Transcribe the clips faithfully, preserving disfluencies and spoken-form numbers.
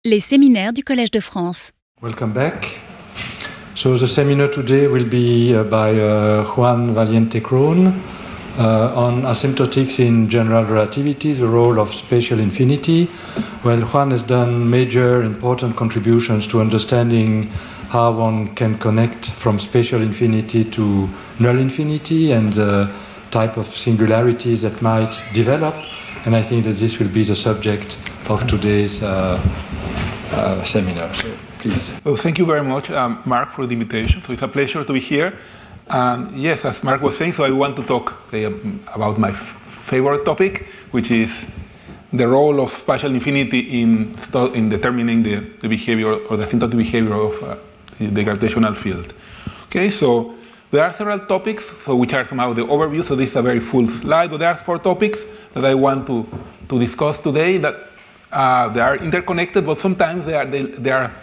Les séminaires du Collège de France. Welcome back. So the seminar today will be uh, by uh, Juan Valiente-Krohn uh, on asymptotics in general relativity, the role of spatial infinity. Well, Juan has done major important contributions to understanding how one can connect from spatial infinity to null infinity and the type of singularities that might develop. And I think that this will be the subject of today's uh, uh, seminar. So please. Well, thank you very much, um, Mark, for the invitation. So it's a pleasure to be here. And yes, as Mark was saying, so I want to talk uh, about my f- favorite topic, which is the role of spatial infinity in in determining the, the behavior or the asymptotic behavior of uh, the gravitational field. Okay, so there are several topics, so which are somehow the overview. So this is a very full slide, but there are four topics that I want to, to discuss today that uh, they are interconnected, but sometimes they are they, they are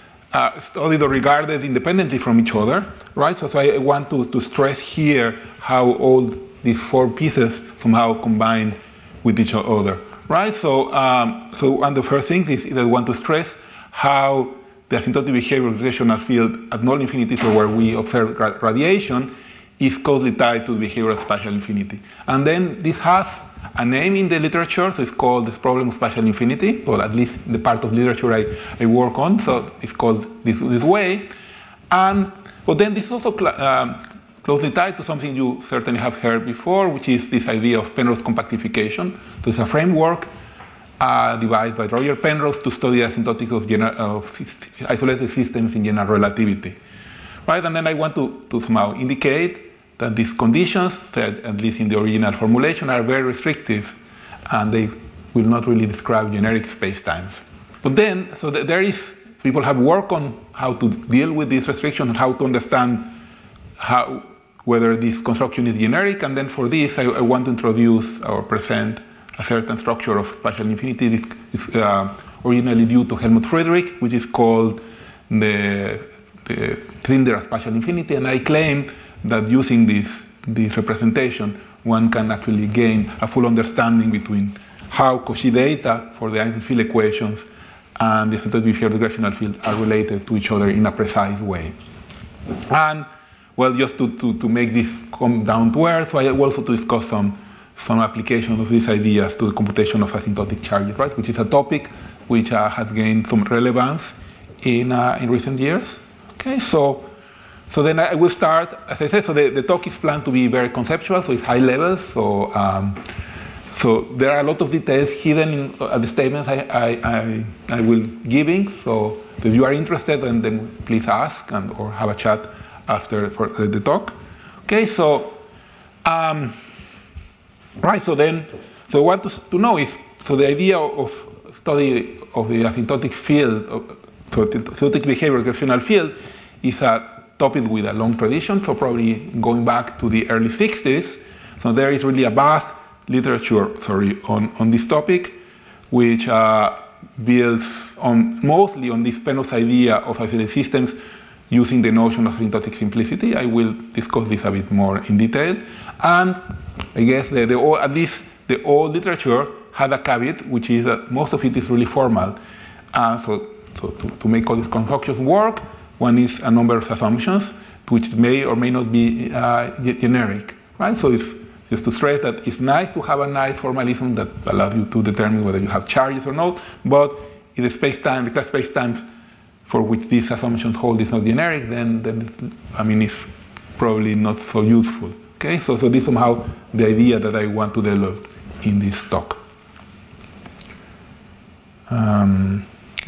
uh, studied or regarded independently from each other, right? So, so I want to, to stress here how all these four pieces somehow combine with each other, right? So, um, so and the first thing is that I want to stress how the asymptotic behavior of the gravitational field at null infinity, so where we observe radiation, is closely tied to the behavior of spatial infinity. And then this has a name in the literature, so it's called this problem of spatial infinity, or at least the part of literature I, I work on, so it's called this, this way. And but then this is also cl- um, closely tied to something you certainly have heard before, which is this idea of Penrose compactification. So it's a framework uh, devised by Roger Penrose to study asymptotics of, gener- of isolated systems in general relativity. Right? And then I want to, to somehow indicate that these conditions, that at least in the original formulation, are very restrictive, and they will not really describe generic spacetimes. But then, so th- there is, people have worked on how to deal with these restrictions and how to understand how, whether this construction is generic, and then for this, I, I want to introduce or present a certain structure of spatial infinity. This is uh, originally due to Helmut Friedrich, which is called the, the cylinder of spatial infinity, and I claim that using this, this representation, one can actually gain a full understanding between how Cauchy data for the Einstein field equations and the asymptotic behavior of the gravitational field are related to each other in a precise way. And, well, just to, to, to make this come down to earth, so I also to discuss some, some applications of these ideas to the computation of asymptotic charges, right, which is a topic which uh, has gained some relevance in, uh, in recent years. Okay, so So then I will start, as I said, so the, the talk is planned to be very conceptual, so it's high level. So um, so there are a lot of details hidden in uh, the statements I, I, I, I will giving. So if you are interested, then, then please ask and or have a chat after for the, the talk. Okay, so um, right, so then so what to, to know is so the idea of study of the asymptotic field, of, so the asymptotic behavior of the gravitational field, is a topic with a long tradition, so probably going back to the early sixties. So there is really a vast literature, sorry, on, on this topic, which uh, builds on mostly on this Penrose idea of isolated systems using the notion of asymptotic simplicity. I will discuss this a bit more in detail. And I guess the, the at least the old literature had a caveat, which is that most of it is really formal. Uh, so so to, to make all these concoctions work, one is a number of assumptions, which may or may not be uh, generic, right? So it's just to stress that it's nice to have a nice formalism that allows you to determine whether you have charges or not, but in the space-time, the class space-times for which these assumptions hold is not generic, then, then it's, I mean, it's probably not so useful, okay? So, so this is somehow the idea that I want to develop in this talk. Um,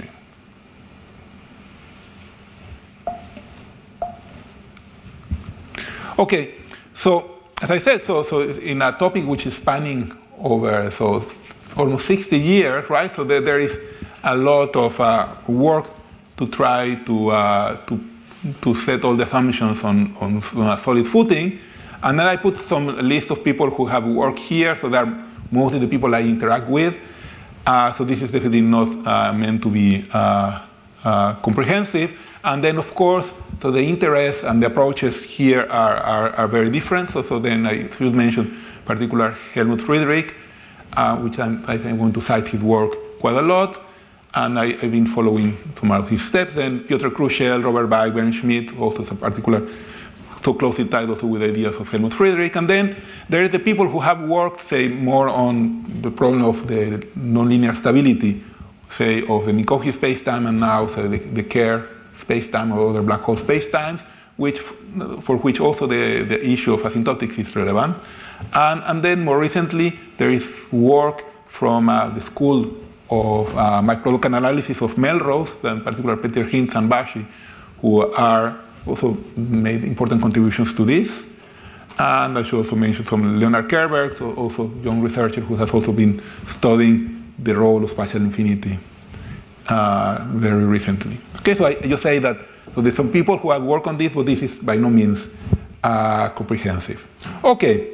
Okay, so as I said, so so in a topic which is spanning over so almost sixty years, right? So there, there is a lot of uh, work to try to uh, to to set all the assumptions on, on on a solid footing, and then I put some list of people who have worked here. So they're mostly the people I interact with. Uh, so this is definitely not uh, meant to be uh, uh, comprehensive. And then, of course, so the interests and the approaches here are, are, are very different. So, so then I should mention particular Helmut Friedrich, uh, which I'm, I think I'm going to cite his work quite a lot. and I, I've been following some of his steps. Then Piotr Kruschel, Robert Beig, Bernd Schmidt, also some particular, so closely tied also with ideas of Helmut Friedrich. And then there are the people who have worked, say, more on the problem of the nonlinear stability, say, of the Minkowski spacetime, and now say, the, the Kerr spacetime or other black hole spacetimes, which, for which also the, the issue of asymptotics is relevant. And, and then more recently, there is work from uh, the school of uh, microlocal analysis of Melrose, in particular Peter Hinz and Bashi, who are also made important contributions to this. And I should also mention some Leonard Kerberg, so also young researcher who has also been studying the role of spatial infinity uh, very recently. Okay, so I just say that so there's some people who have worked on this, but this is by no means uh, comprehensive. Okay,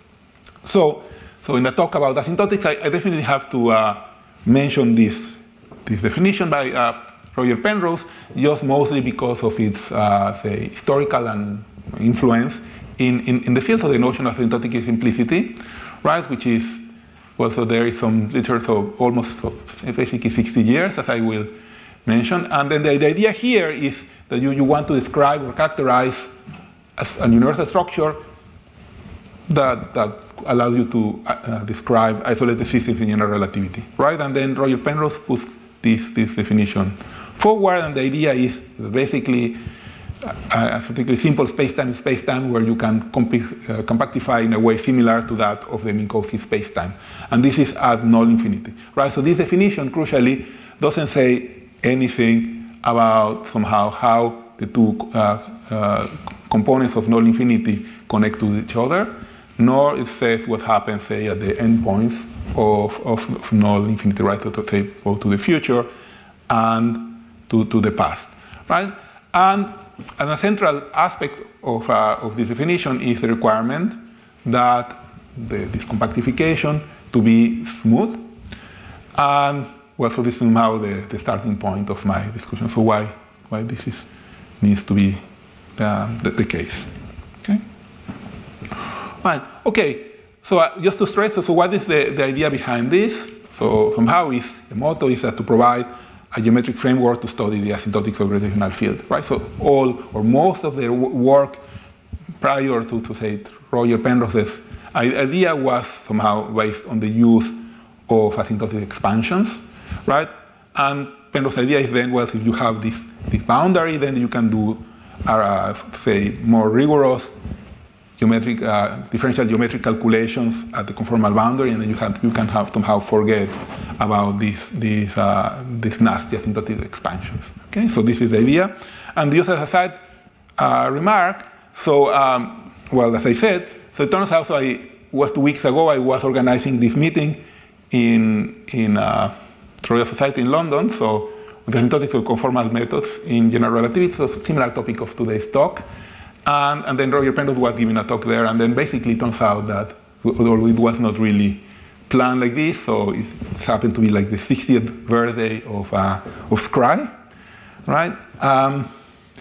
so so in the talk about asymptotics, I, I definitely have to uh, mention this this definition by uh, Roger Penrose, just mostly because of its, uh, say, historical and influence in, in, in the field of the notion of asymptotic simplicity, right? Which is, well, so there is some literature, so almost so basically sixty years, as I will mention. And then the, the idea here is that you, you want to describe or characterize as a universal structure that, that allows you to uh, describe isolated systems in general relativity, right? And then Roger Penrose puts this, this definition forward, and the idea is basically a, a particularly simple spacetime spacetime where you can comp uh, compactify in a way similar to that of the Minkowski spacetime. And this is at null infinity, right? So this definition, crucially, doesn't say anything about somehow how the two uh, uh, components of null infinity connect to each other, nor it says what happens, say, at the endpoints of, of, of null infinity, right? So to say, both to the future and To, to the past, right? And, and a central aspect of, uh, of this definition is the requirement that the, this compactification to be smooth. And well, so this is somehow the, the starting point of my discussion. So why, why this is, needs to be uh, the, the case, okay? Right, okay, so uh, just to stress, so what is the, the idea behind this? So somehow is, the motto is that to provide a geometric framework to study the asymptotics of gravitational field, right? So all or most of their work prior to, to say, Roger Penrose's idea was somehow based on the use of asymptotic expansions, right? And Penrose's idea is then, well, if you have this, this boundary, then you can do, uh, say, more rigorous geometric, uh, differential geometric calculations at the conformal boundary, and then you, have, you can have somehow forget about these, these, uh, these nasty asymptotic expansions. Okay, so this is the idea. And just as a side uh, remark, so, um, well, as I said, so it turns out, so I was two weeks ago, I was organizing this meeting in, in uh, Royal Society in London, so with the asymptotics of conformal methods in general relativity, so similar topic of today's talk. And, and then Roger Penrose was giving a talk there, and then basically it turns out that although it was not really planned like this, so it happened to be like the sixtieth birthday of, uh, of Scry, right? Um,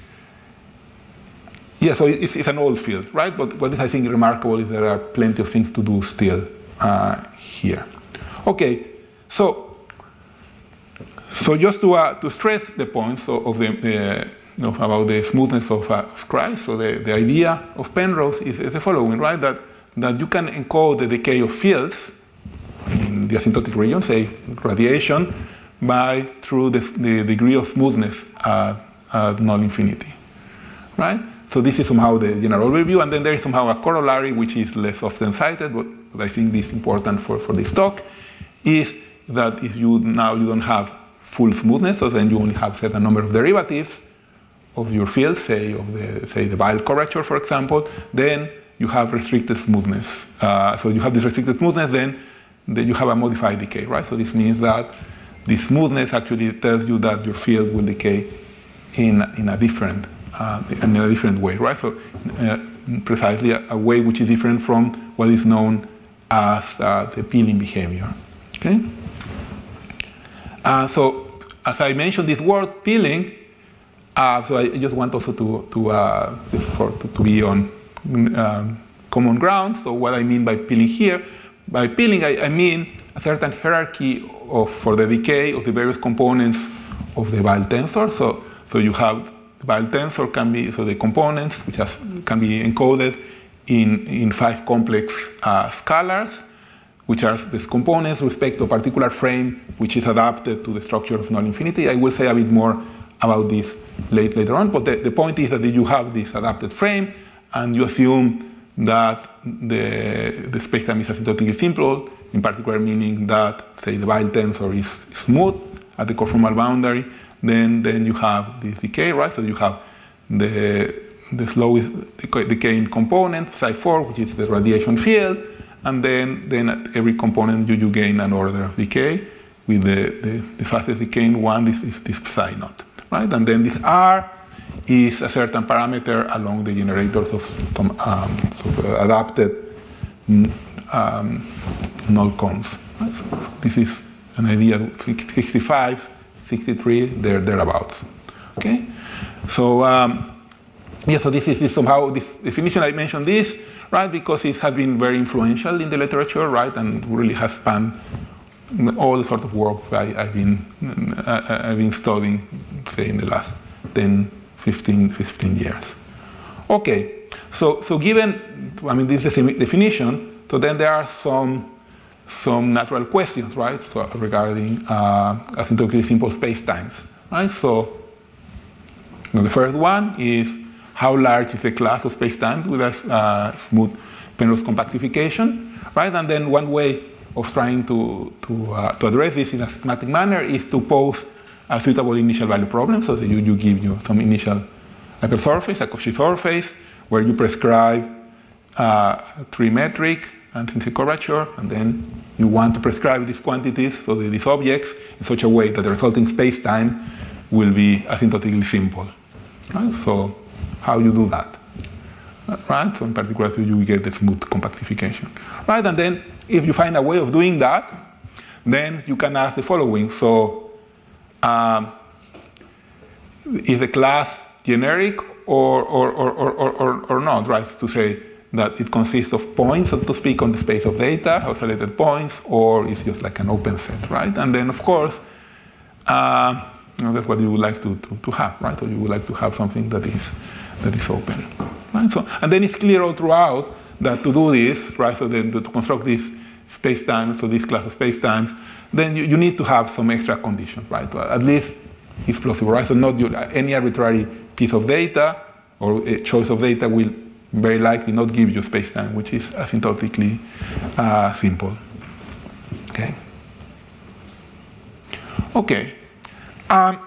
yeah, so it's, it's an old field, right? But what is, I think, remarkable is there are plenty of things to do still uh, here. Okay, so so just to, uh, to stress the points of, of the, the Of, about the smoothness of uh, Scry. So the, the idea of Penrose is, is the following, right? That, that you can encode the decay of fields in the asymptotic region, say radiation, by through the, the degree of smoothness at, at null infinity, right? So this is somehow the general overview, and then there is somehow a corollary which is less often cited, but, but I think this is important for, for this talk, is that if you now you don't have full smoothness, so then you only have a certain number of derivatives of your field, say of the say the Weyl curvature, for example, then you have restricted smoothness. Uh, so you have this restricted smoothness, then, then you have a modified decay, right? So this means that the smoothness actually tells you that your field will decay in in a different uh, in a different way, right? So uh, precisely a, a way which is different from what is known as uh, the peeling behavior. Okay. Uh, so as I mentioned, this word peeling. Uh, so I just want also to to uh, for, to, to be on um, common ground. So what I mean by peeling here, by peeling I, I mean a certain hierarchy of, for the decay of the various components of the Weyl tensor. So, so you have the Weyl tensor can be, so the components, which has, can be encoded in, in five complex uh, scalars, which are the components with respect to a particular frame which is adapted to the structure of null infinity. I will say a bit more about this late, later on, but the, the point is that you have this adapted frame and you assume that the, the spacetime is asymptotically simple, in particular meaning that, say, the Weyl tensor is smooth at the conformal boundary, then, then you have this decay, right? So you have the, the slowest decaying component, psi four, which is the radiation field, and then, then at every component you, you gain an order of decay, with the, the, the fastest decaying one is, is this psi naught, right? And then this R is a certain parameter along the generators of some um, sort of adapted um, null cones. Right? So this is an idea, sixty-five, sixty-three, there, thereabouts. Okay? So, um, yeah, so this is this somehow, this definition, I mentioned this, right, because it has been very influential in the literature, right, and really has spanned all the sort of work I, I've been I, I've been studying, say, in the last ten, fifteen, fifteen years. Okay, so so given, I mean, this is a definition, so then there are some some natural questions, right, so regarding uh, asymptotically simple spacetimes, right? So you know, the first one is, how large is the class of spacetimes with a uh, smooth Penrose compactification, right? And then one way of trying to, to, uh, to address this in a systematic manner is to pose a suitable initial value problem, so that you, you give you some initial hypersurface, a Cauchy surface, where you prescribe uh, trimetric intrinsic curvature, and then you want to prescribe these quantities, so that these objects, in such a way that the resulting spacetime will be asymptotically simple. Right? So how you do that? Right? So in particular, so you get the smooth compactification. Right? And then if you find a way of doing that, then you can ask the following. So um, is the class generic or, or, or, or, or, or not? Right? To say that it consists of points, so to speak, on the space of data, isolated points, or it's just like an open set, right? And then, of course, uh, you know, that's what you would like to, to, to have, right? So you would like to have something that is that is open, right? So, and then it's clear all throughout that to do this, right? So then to construct this spacetime, so this class of spacetimes, then you, you need to have some extra conditions, right? At least it's plausible, right? So not your, any arbitrary piece of data or a choice of data will very likely not give you spacetime which is asymptotically uh, simple. Okay. Okay. Um,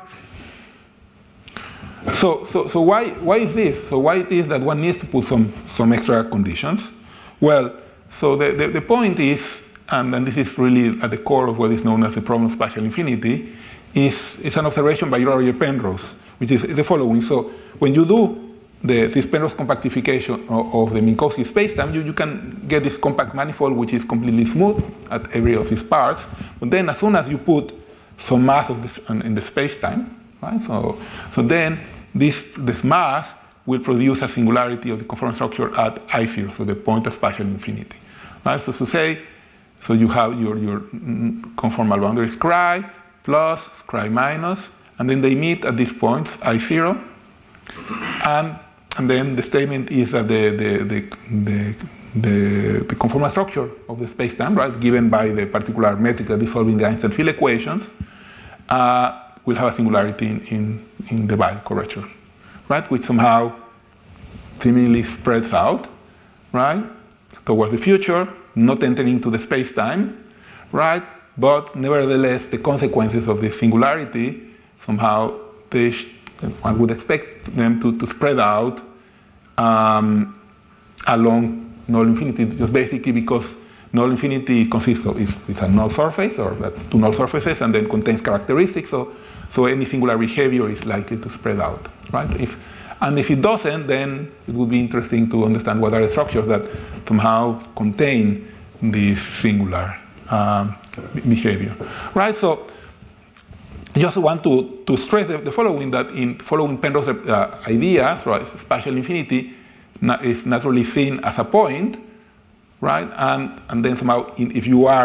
so, so, so why, why is this? So why it is that one needs to put some, some extra conditions? Well, so the, the, the point is, and, and this is really at the core of what is known as the problem of spatial infinity, is, is an observation by Roger Penrose, which is the following. So when you do the, this Penrose compactification of, of the Minkowski spacetime, you, you can get this compact manifold which is completely smooth at every of its parts. But then as soon as you put some mass of this in the spacetime, right? So, so then this, this mass will produce a singularity of the conformal structure at I zero, so the point of spatial infinity. Right? So to say, so you have your, your conformal boundary scri plus scri minus, and then they meet at these points I zero, and and then the statement is that the the the the, the, the conformal structure of the spacetime, right, given by the particular metric that is solving the Einstein field equations, uh, will have a singularity in, in, in the Weyl curvature, right, which somehow seemingly spreads out, right, towards the future, not entering into the spacetime, right, but nevertheless the consequences of the singularity somehow they one would expect them to, to spread out um, along null infinity, just basically because null infinity consists of is, is a null surface, or two null surfaces, and then contains characteristics. So, so any singular behavior is likely to spread out, right? If, and if it doesn't, then it would be interesting to understand what are the structures that somehow contain this singular um, behavior, right? So. I just want to, to stress the, the following, that in following Penrose uh, idea, right, spatial infinity na is naturally seen as a point, right? And, and then somehow, in, if you are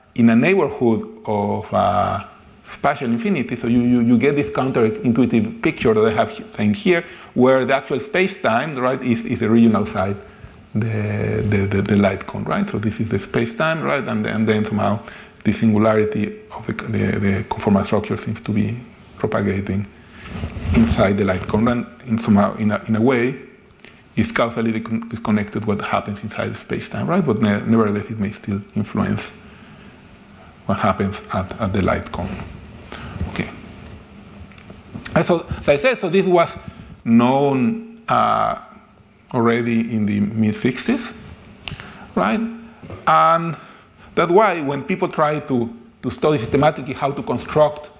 in a neighborhood of uh, spatial infinity. So you, you, you get this counterintuitive picture that I have saying here, where the actual space-time, right, is, is the region outside the, the, the, the light cone, right? So this is the space-time, right, and, and then somehow the singularity of the, the, the conformal structure seems to be propagating inside the light cone, and in somehow in a, in a way is causally disconnected what happens inside the space-time, right? But ne nevertheless, it may still influence what happens at, at the light cone. Okay. And so, as I said, so this was known uh, already in the mid sixties, right? And that's why when people try to, to study systematically how to construct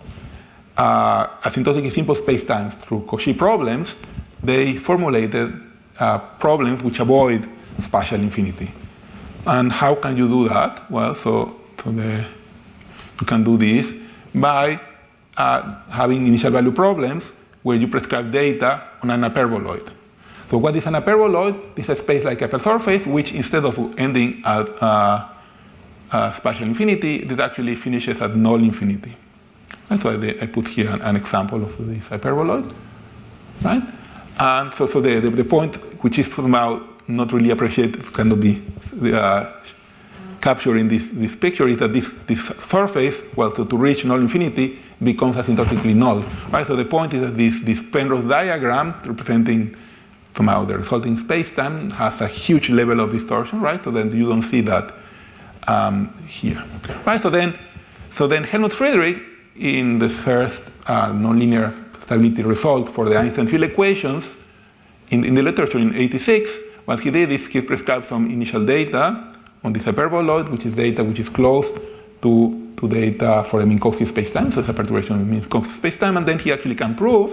uh, asymptotically simple spacetimes through Cauchy problems, they formulated uh, problems which avoid spatial infinity. And how can you do that? Well, so, so the, you can do this by uh, having initial value problems where you prescribe data on an hyperboloid. So what is an hyperboloid? It's a space like hypersurface, which instead of ending at uh, uh, spatial infinity, it actually finishes at null infinity. And so I, I put here an, an example of this hyperboloid, right? And so, so the, the, the point, which is somehow not really appreciated, cannot be uh, captured in this, this picture, is that this, this surface, well, so to reach null infinity, becomes asymptotically null, right? So the point is that this, this Penrose diagram representing somehow the resulting space-time has a huge level of distortion, right? So then you don't see that um, here, right? So then, so then Helmut Friedrich, in the first uh, nonlinear stability result for the Einstein field equations, in, in the literature in eighty-six, what he did is he prescribed some initial data on this hyperboloid, which is data which is close to, to data for the Minkowski spacetime, so it's a perturbation of the Minkowski spacetime, and then he actually can prove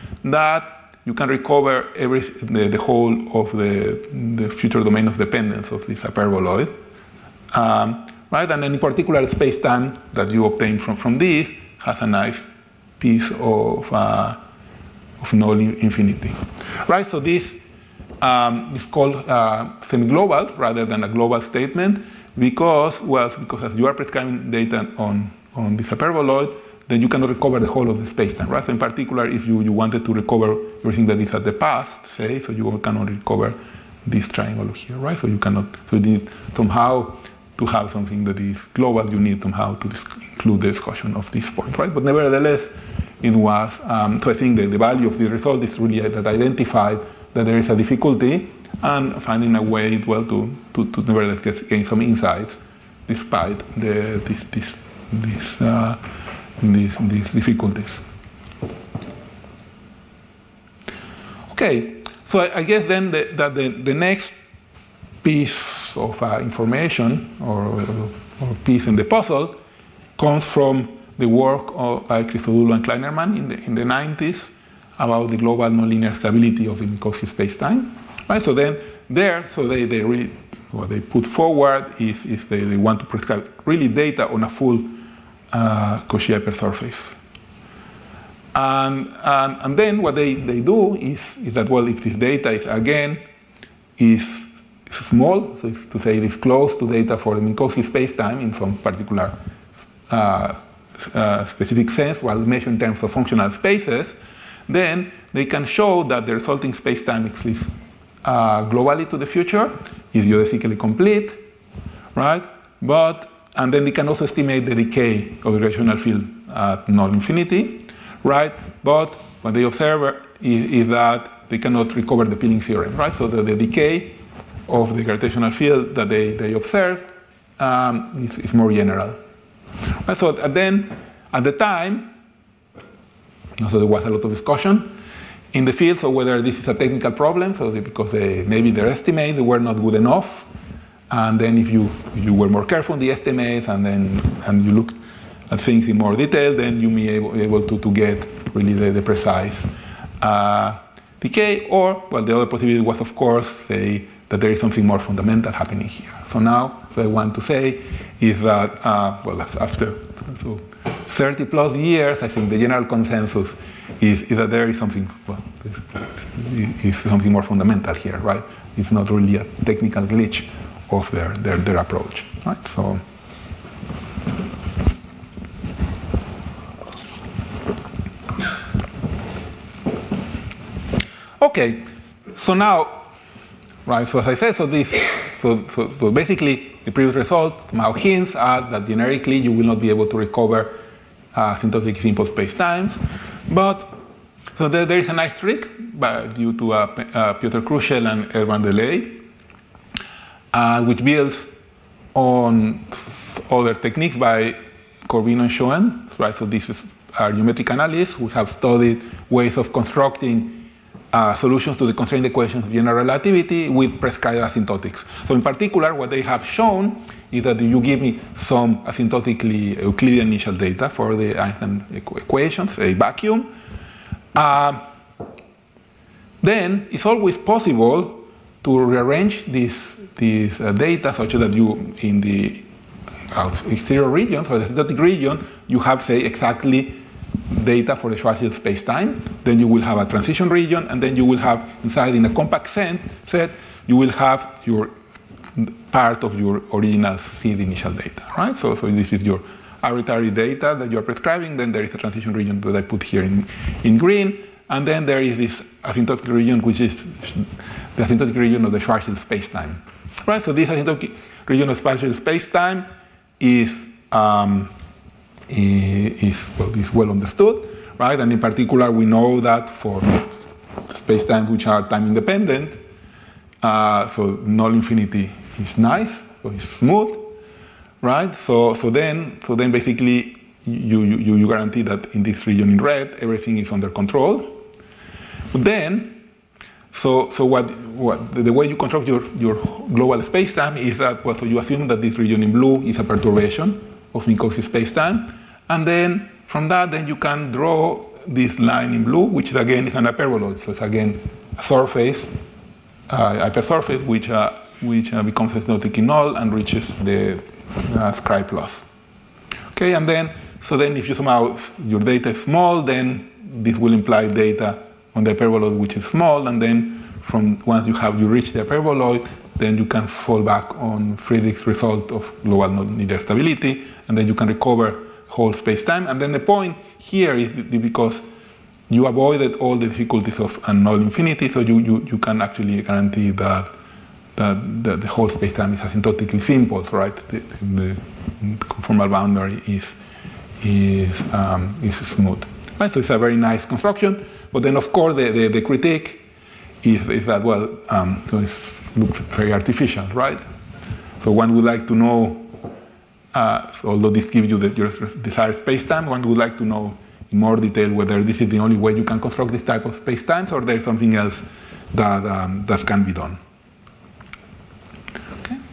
that you can recover every, the, the whole of the, the future domain of dependence of this hyperboloid. Um, right? And then in particular, the spacetime that you obtain from, from this has a nice piece of, uh, of null infinity. Right? So this um, is called uh, semi-global rather than a global statement because, well, because as you are prescribing data on, on this hyperboloid, then you cannot recover the whole of the spacetime, right? So in particular, if you, you wanted to recover everything that is at the past, say, so you cannot recover this triangle here, right? So you cannot, so you need somehow to have something that is global, you need somehow to include the discussion of this point, right? But nevertheless, it was, um, so I think that the value of the result is really that identified that there is a difficulty and finding a way, well, to, to, to nevertheless gain some insights despite the, this, this, this, uh, these, these difficulties. Okay, so I, I guess then the, that the, the next piece of uh, information or, or piece in the puzzle comes from the work of by Christodoulou and Kleinerman in the, in the nineties about the global nonlinear stability of the Minkowski spacetime. Right? So then there, so they, they really, what they put forward is, is they, they want to prescribe really data on a full uh, Cauchy hypersurface. And, and, and then what they, they do is, is that, well, if this data is, again, is small, so it's to say it is close to data for the Minkowski spacetime in some particular uh, uh, specific sense, while measured in terms of functional spaces, then they can show that the resulting spacetime exists uh, globally to the future, is geodesically complete, right? But, and then they can also estimate the decay of the gravitational field at null infinity, right? But what they observe is, is that they cannot recover the peeling theorem, right? So the, the decay of the gravitational field that they, they observe um, is, is more general. Right? So then, at the time, so there was a lot of discussion in the field, so whether this is a technical problem, so because they, maybe their estimates were not good enough, and then if you if you were more careful in the estimates, and then and you looked at things in more detail, then you may be able, able to, to get really the, the precise uh, decay. Or, well, the other possibility was, of course, say that there is something more fundamental happening here. So now, what I want to say is that, uh, well, after so thirty plus years, I think the general consensus is, is that there is something, well, is, is something more fundamental here, right? It's not really a technical glitch of their, their, their approach, right? So, Okay, so now, right, so as I said, so this, so, so, so basically the previous result somehow hints at that generically you will not be able to recover uh, asymptotic simple spacetimes, but so there, there is a nice trick by, due to uh, uh, Piotr Kruszell and Erwan Delay, uh, which builds on other techniques by Corbin and Schoen, right? So this is our geometric analysis. We have studied ways of constructing uh, solutions to the constraint equations of general relativity with prescribed asymptotics. So in particular, what they have shown is that you give me some asymptotically Euclidean initial data for the Einstein equ equations, a vacuum. Uh, then it's always possible to rearrange this, this uh, data such that you, in the exterior region, so the asymptotic region, you have, say, exactly data for the Schwarzschild spacetime. Then you will have a transition region, and then you will have inside in a compact set, set you will have your part of your original seed initial data, right? So, so this is your arbitrary data that you are prescribing. Then there is a transition region that I put here in, in green, and then there is this asymptotic region, which is the asymptotic region of the Schwarzschild spacetime, right? So this asymptotic region of Schwarzschild spacetime is um, is well, is well understood, right? And in particular, we know that for spacetimes which are time independent, uh, so null infinity is nice, so it's smooth, right? So so then so then basically you you you guarantee that in this region in red everything is under control. But then so so what what the way you construct your your global spacetime is that well, so you assume that this region in blue is a perturbation of Minkowski spacetime, and then from that then you can draw this line in blue, which is again is an hyperboloid. So it's again a surface, uh, hypersurface, which uh, which uh, becomes asymptotically null and reaches the uh, Scri plus. Okay, and then so then if you somehow your data is small, then this will imply data on the hyperboloid which is small, and then from once you have you reach the hyperboloid, then you can fall back on Friedrich's result of global nonlinear stability, and then you can recover whole space-time. And then the point here is because you avoided all the difficulties of a null infinity, so you, you, you can actually guarantee that, that, that the whole space-time is asymptotically simple, right? The, the conformal boundary is, is, um, is smooth. Right? So it's a very nice construction, but then of course the, the, the critique is, is that, well, um, so it looks very artificial, right? So one would like to know, uh, so although this gives you the, your desired space-time, one would like to know in more detail whether this is the only way you can construct this type of space-times or there's something else that, um, that can be done. Okay.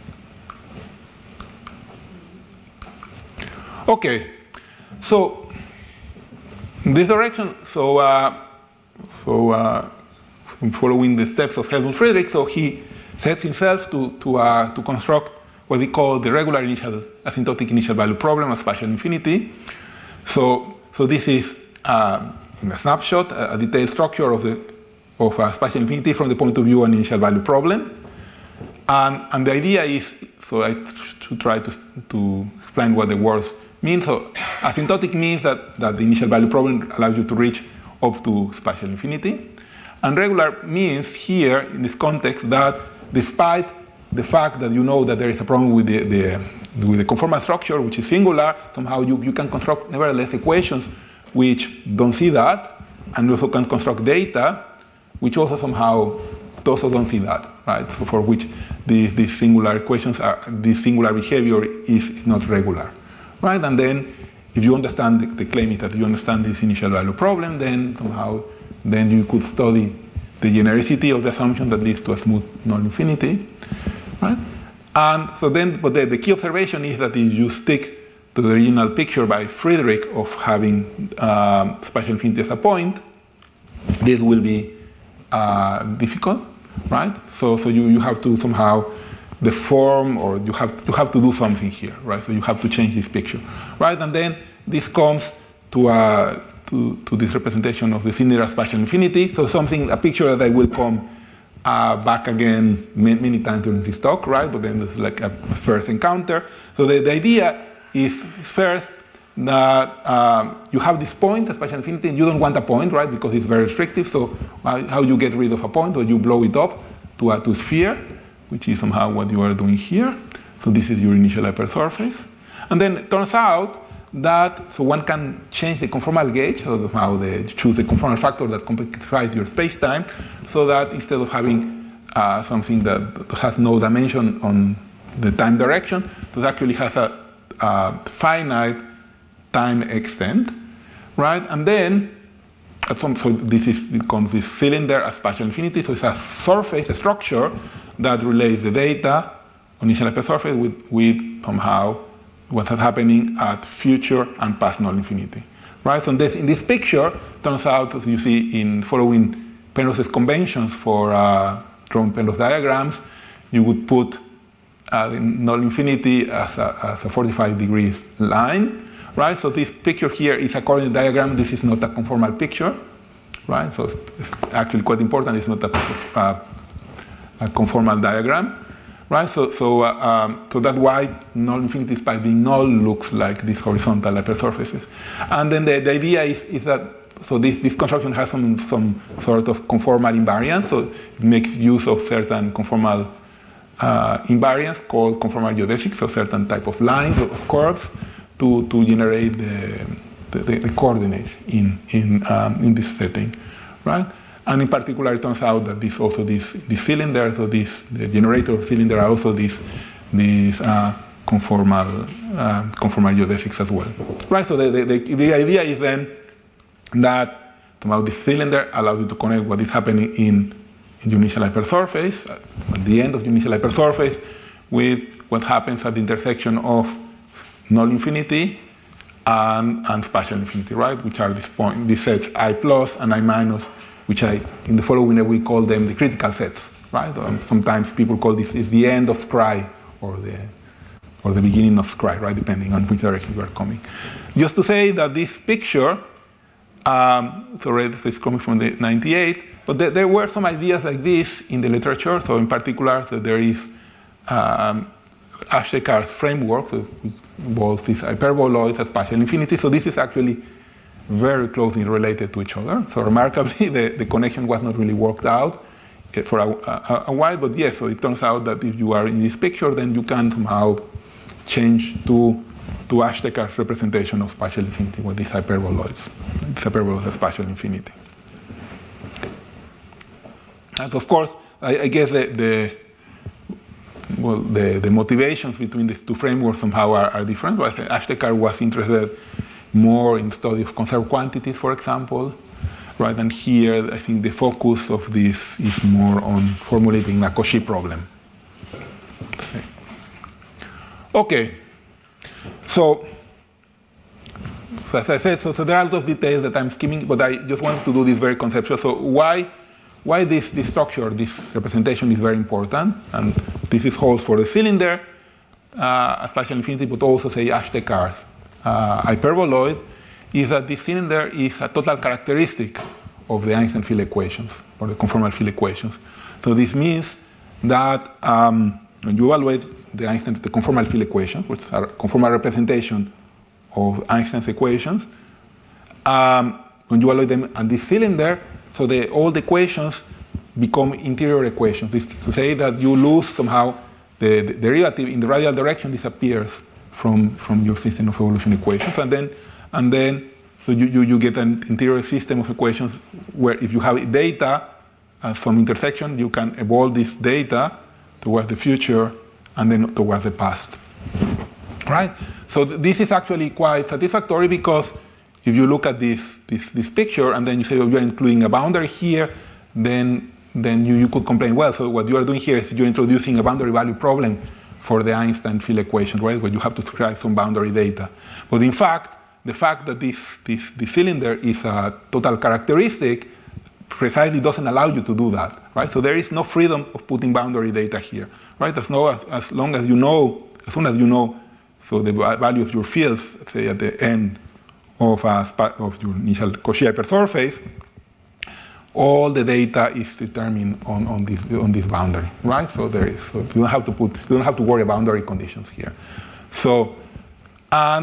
Okay, so in this direction, so, uh, so uh, following the steps of Helmut Friedrich, so he sets himself to, to, uh, to construct what we call the regular initial asymptotic initial value problem of spatial infinity. So, so this is uh, in a snapshot a, a detailed structure of the of a spatial infinity from the point of view of an initial value problem, and and the idea is so I should try to to explain what the words mean. So asymptotic means that that the initial value problem allows you to reach up to spatial infinity. And regular means here, in this context, that despite the fact that you know that there is a problem with the, the, with the conformal structure, which is singular, somehow you, you can construct, nevertheless, equations which don't see that, and you also can construct data which also somehow also don't see that, right? So for which these, these singular equations, are, this singular behavior is, is not regular, right? And then if you understand, the, the claim is that you understand this initial value problem, then somehow then you could study the genericity of the assumption that leads to a smooth null infinity, right? And so then, but the, the key observation is that if you stick to the original picture by Friedrich of having um, spatial infinity as a point, this will be uh, difficult, right? So, so you, you have to somehow deform, or you have to, you have to do something here, right? So you have to change this picture, right? And then this comes to a To, to this representation of the Zindler spatial infinity. So something, a picture that I will come uh, back again many, many times during this talk, right? But then there's like a first encounter. So the, the idea is first that um, you have this point, a spatial infinity, and you don't want a point, right, because it's very restrictive. So uh, how you get rid of a point, or you blow it up to a to sphere, which is somehow what you are doing here. So this is your initial hypersurface. And then it turns out that, so one can change the conformal gauge, so somehow they choose the conformal factor that complexifies your space-time, so that instead of having uh, something that has no dimension on the time direction, it actually has a, a finite time extent, right? And then, at some, so this is, becomes this cylinder at spatial infinity, so it's a surface, a structure that relays the data on initial hypersurface with, with somehow what's happening at future and past null infinity, right? So in this, in this picture, turns out, as you see in following Penrose's conventions for uh, drawing Penrose diagrams, you would put uh, null infinity as a, as a forty-five degrees line, right? So this picture here is a coordinate diagram. This is not a conformal picture, right? So it's actually quite important. It's not a, uh, a conformal diagram. Right, so so uh, um, so that's why null infinity by being null looks like these horizontal hypersurfaces, and then the, the idea is, is that so this, this construction has some some sort of conformal invariance, so it makes use of certain conformal uh, invariance called conformal geodesics, so certain type of lines of curves to to generate the the, the coordinates in in um, in this setting, right? And in particular, it turns out that this also this this cylinder, so this the generator cylinder are also these these uh, conformal uh, conformal geodesics as well, right? So the, the the idea is then that somehow this cylinder allows you to connect what is happening in, in your initial hypersurface at the end of your initial hypersurface with what happens at the intersection of null infinity and and spatial infinity, right? Which are these point these sets I plus and I minus, which I, in the following we call them the critical sets, right? Um, sometimes people call this is the end of scry or the or the beginning of scry, right? Depending on which direction you are coming. Just to say that this picture, um, so it's coming from the ninety-eight, but there, there were some ideas like this in the literature. So in particular, so there is um, Ashtekar's framework, so which involves these hyperboloids at spatial infinity. So this is actually very closely related to each other. So remarkably, the, the connection was not really worked out for a, a, a while, but yes, so it turns out that if you are in this picture, then you can somehow change to, to Ashtekar's representation of spatial infinity with these hyperboloids, these hyperboloids of spatial infinity. And of course, I, I guess the, the well, the, the motivations between these two frameworks somehow are, are different. Right? Ashtekar was interested more in study of conserved quantities, for example, right? And here, I think the focus of this is more on formulating a Cauchy problem. Okay, so, so as I said, so, so there are a lot of details that I'm skimming, but I just wanted to do this very conceptual. So why, why this, this structure, this representation is very important, and this is holds for the cylinder, uh, spatial infinity, but also say Ashtekar's Uh, hyperboloid, is that this cylinder is a total characteristic of the Einstein field equations, or the conformal field equations. So this means that um, when you evaluate the Einstein, the conformal field equations, which are a conformal representation of Einstein's equations, um, when you evaluate them on this cylinder, so the, all the equations become interior equations. This is to say that you lose somehow the, the derivative in the radial direction disappears from, from your system of evolution equations. And then, and then so you, you, you get an interior system of equations where if you have data at some intersection, you can evolve this data towards the future and then towards the past. Right? So th this is actually quite satisfactory because if you look at this, this, this picture and then you say, oh, you're including a boundary here, then, then you, you could complain, well, so what you are doing here is you're introducing a boundary value problem for the Einstein field equation, right, where you have to describe some boundary data. But in fact, the fact that this, this, this cylinder is a total characteristic precisely doesn't allow you to do that, right? So there is no freedom of putting boundary data here, right? As, no, as, as long as you know, as soon as you know, so the value of your fields, say at the end of, a, of your initial Cauchy hypersurface, all the data is determined on, on this on this boundary, right? So there is, so you don't have to put, you don't have to worry about boundary conditions here. So, and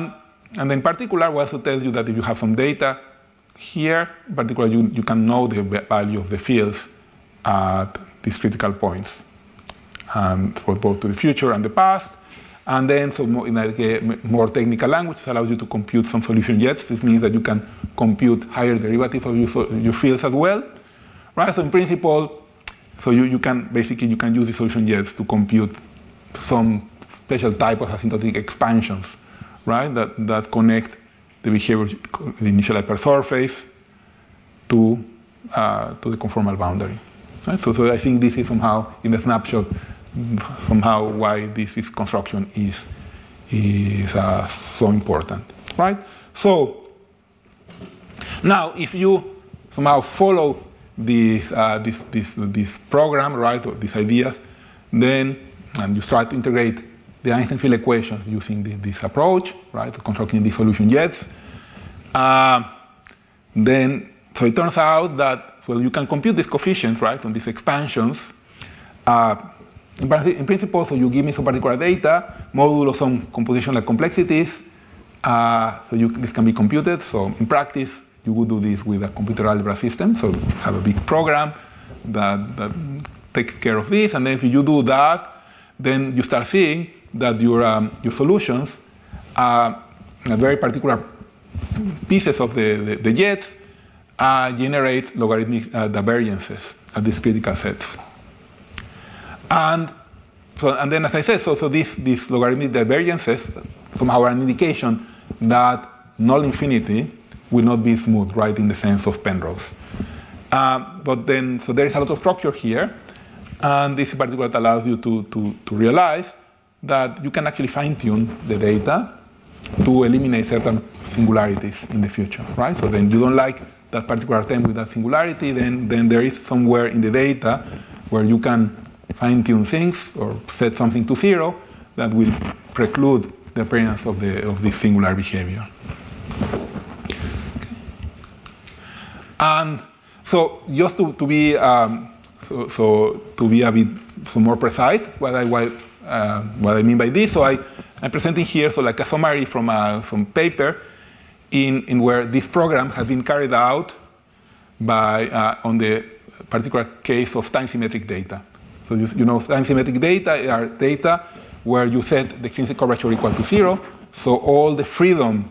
and in particular, we also tell you that if you have some data here, in particular, you, you can know the value of the fields at these critical points, and for both to the future and the past. And then, so more, in like a more technical language, it allows you to compute some solution jets. This means that you can compute higher derivatives of your, your fields as well, right? So in principle, so you, you can basically you can use the solution jets to compute some special type of asymptotic expansions, right? That that connect the behavior, the initial hypersurface, to uh, to the conformal boundary. Right? So, so I think this is somehow in a snapshot. Somehow, why this is construction is is uh, so important, right? So now, if you somehow follow this uh, this this this program, right, or these ideas, then and you start to integrate the Einstein field equations using the, this approach, right, to constructing these solution jets. Uh, then, so it turns out that well, you can compute these coefficients, right, on these expansions. Uh, In principle, so you give me some particular data, modulo some computational complexities, uh, so you, this can be computed. So in practice, you would do this with a computer algebra system. So you have a big program that, that takes care of this, and then if you do that, then you start seeing that your um, your solutions are very particular pieces of the, the, the jets uh, generate logarithmic uh, divergences at these critical sets. And so, and then, as I said, so, so these, these logarithmic divergences somehow are an indication that null infinity will not be smooth, right, in the sense of Penrose. Uh, but then, so there is a lot of structure here, and this in particular allows you to, to, to realize that you can actually fine-tune the data to eliminate certain singularities in the future, right? So then you don't like that particular term with that singularity, then, then there is somewhere in the data where you can fine-tune things or set something to zero that will preclude the appearance of, the, of this singular behavior. Okay. And so just to, to be um, so, so to be a bit so more precise, what I what, uh, what I mean by this, so I I'm presenting here so like a summary from a from paper in in where this program has been carried out by uh, on the particular case of time-symmetric data. So you, you know, time-symmetric data are data where you set the extrinsic curvature equal to zero. So all the freedom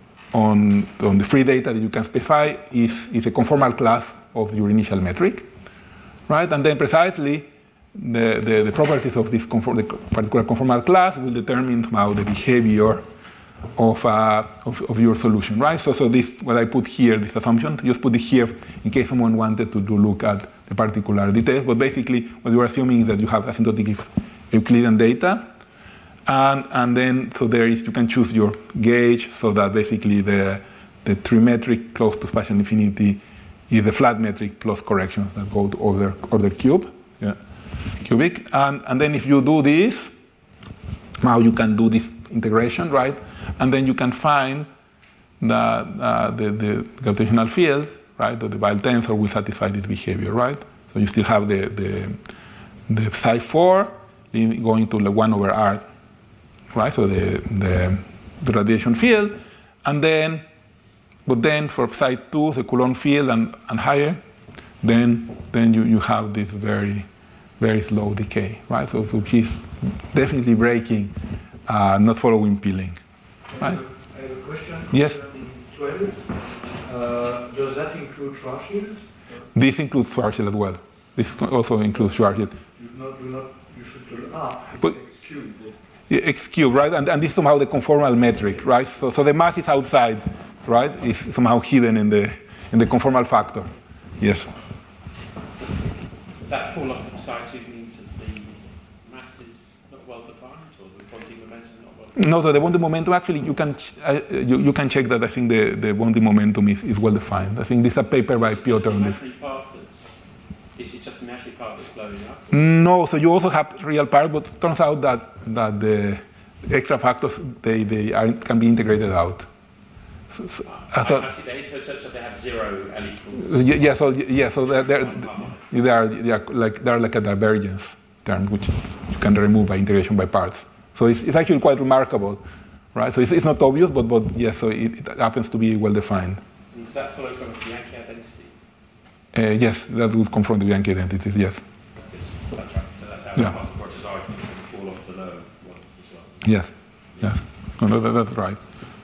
on, on the free data that you can specify is, is a conformal class of your initial metric, right? And then precisely the, the, the properties of this conform, the particular conformal class will determine how the behavior of, uh, of, of your solution, right? So, so this, what I put here, this assumption, just put it here in case someone wanted to do look at the particular details. But basically, what you are assuming is that you have asymptotic Euclidean data, and and then so there is you can choose your gauge so that basically the the trimetric close to spatial infinity is the flat metric plus corrections that go to order order cube, yeah, cubic, and and then if you do this, now you can do this integration, right? And then you can find that uh, the, the gravitational field, right, or the Weyl tensor will satisfy this behavior, right? So you still have the the, the psi four going to the one over r, right? So the, the the radiation field, and then, but then for psi two, the Coulomb field and, and higher, then then you, you have this very very slow decay, right? So, so which definitely breaking, uh, not following peeling, right? I have a question. Yes. twelve. Uh, does that include Schwarzschild? This includes Schwarzschild as well. This also includes Schwarzschild. You not, you not, you should do ah, it's But- X cubed. Yeah, X cube, right? And, and this is somehow the conformal metric, right? So, so the mass is outside, right? It's somehow hidden in the in the conformal factor. Yes. That fall off from psi two means that the mass is not well defined, or the quantity momentum is not well defined. No, so the bonding momentum actually you can ch- uh, you, you can check that. I think the, the bonding momentum is, is well defined. I think this is a paper by Piotr on this. Imaginary part that's, is it just the imaginary part that's blowing up? No, so you also have real part, but it turns out that that the extra factors they they are, can be integrated out. So, so, I I, thought- I see they, so, so, so they have zero L equals. Yeah, yeah, so yeah, so they're, they're, they are they are like they're like a divergence term which you can remove by integration by parts. So it's, it's actually quite remarkable, right? So it's, it's not obvious, but, but yes, so it, it happens to be well defined. Does that follow from the Bianchi identity? Uh, yes, that would come from the Bianchi identities, yes. That's, that's right. So that's how Yeah. the possible projects are can fall off the low ones as well. Yes, yes. No, no, that, that's right.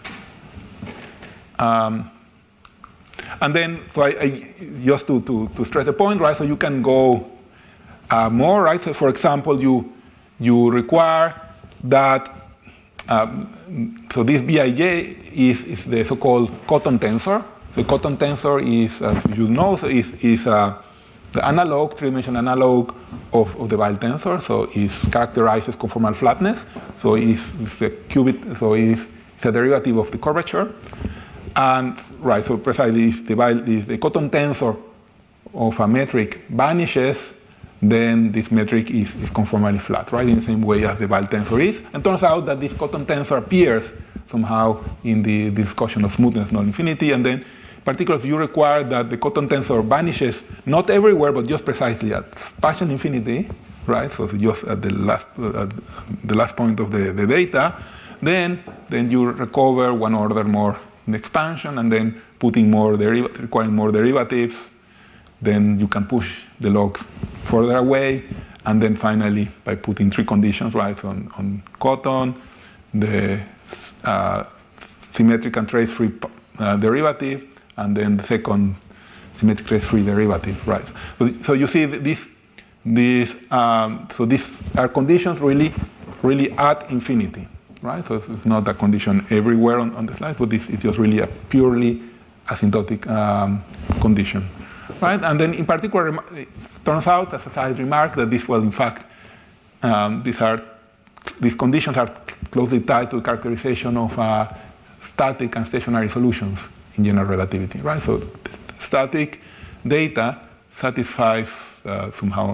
Um, and then, so I, I just to, to, to stress the point, right? So you can go uh, more, right? So for example, you you require that. Um, so this B I J is, is the so-called cotton tensor. The cotton tensor is, as you know, so is is uh, the analog, three-dimensional analog of, of the Weyl tensor. So it characterizes conformal flatness. So it's, it's the qubit. So it's, it's a derivative of the curvature. And right, so precisely if the, if the cotton tensor of a metric vanishes, then this metric is, is conformally flat, right? In the same way as the Weyl tensor is. And turns out that this cotton tensor appears somehow in the discussion of smoothness null infinity. And then, particularly if you require that the cotton tensor vanishes not everywhere, but just precisely at spatial infinity, right? So just at the last, uh, at the last point of the, the data, then, then you recover one order more in expansion, and then putting more deriv- requiring more derivatives, then you can push the logs further away, and then finally by putting three conditions, right, on, on cotton, the uh, symmetric and trace-free uh, derivative, and then the second symmetric trace-free derivative, right? So, so you see this, this um, so these are conditions really, really at infinity. Right, so it's not a condition everywhere on, on the slides, but this is just really a purely asymptotic um, condition, right? And then, in particular, it turns out, as a side remark, that this, well, in fact, um, these are these conditions are closely tied to the characterization of uh, static and stationary solutions in general relativity, right? So, static data satisfies uh, somehow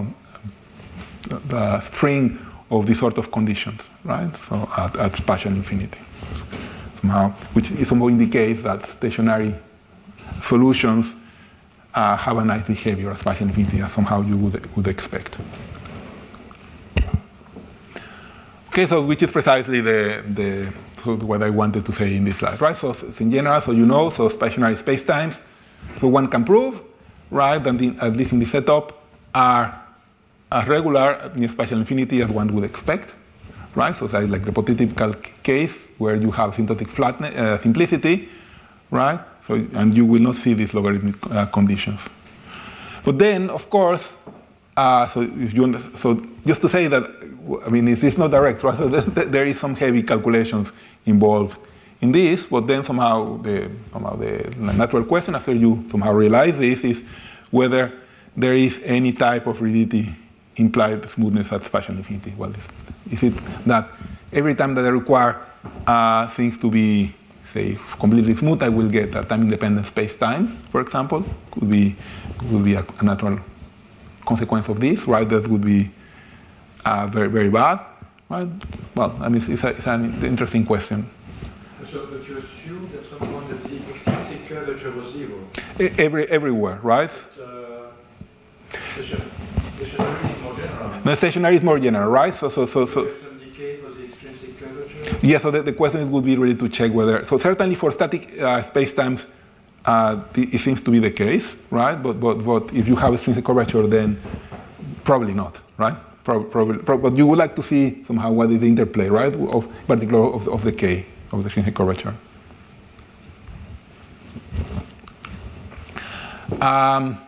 the string of this sort of conditions, right? So at, at spatial infinity, somehow, which somehow indicates that stationary solutions uh, have a nice behavior at spatial infinity, as somehow you would would expect. Okay, so which is precisely the the so what I wanted to say in this slide, right? So, so in general, so you know, so stationary spacetimes, so one can prove, right? And the, at least in the setup, are as regular near spatial infinity as one would expect, right? So it's like the prototypical case where you have asymptotic flatness, uh, simplicity, right? So and you will not see these logarithmic uh, conditions. But then, of course, uh, so if you under, so just to say that, I mean, if it's not direct, right? So there is some heavy calculations involved in this. But then somehow the somehow the natural question after you somehow realize this is whether there is any type of rigidity implied smoothness at spatial infinity. Well, is it that every time that I require uh, things to be, say, completely smooth, I will get a time-independent space-time, for example? Could be, would be a, a natural consequence of this, right? That would be uh, very, very bad, right? Well, I mean, it's, a, it's an interesting question. So, but you assume that some point that the extrinsic curvature was zero? Every, everywhere, right? But, uh, stationary is more general. The stationary is more general, right? So, so, so, so. Some decay for the extrinsic curvature? Yeah, so the, the question would be really to check whether, so certainly for static uh, spacetimes, uh, it, it seems to be the case, right? But, but, but if you have extrinsic curvature, then probably not, right? Probably, probably, probably, but you would like to see somehow what is the interplay, right? Of particular of, of the K, of the extrinsic curvature. Um,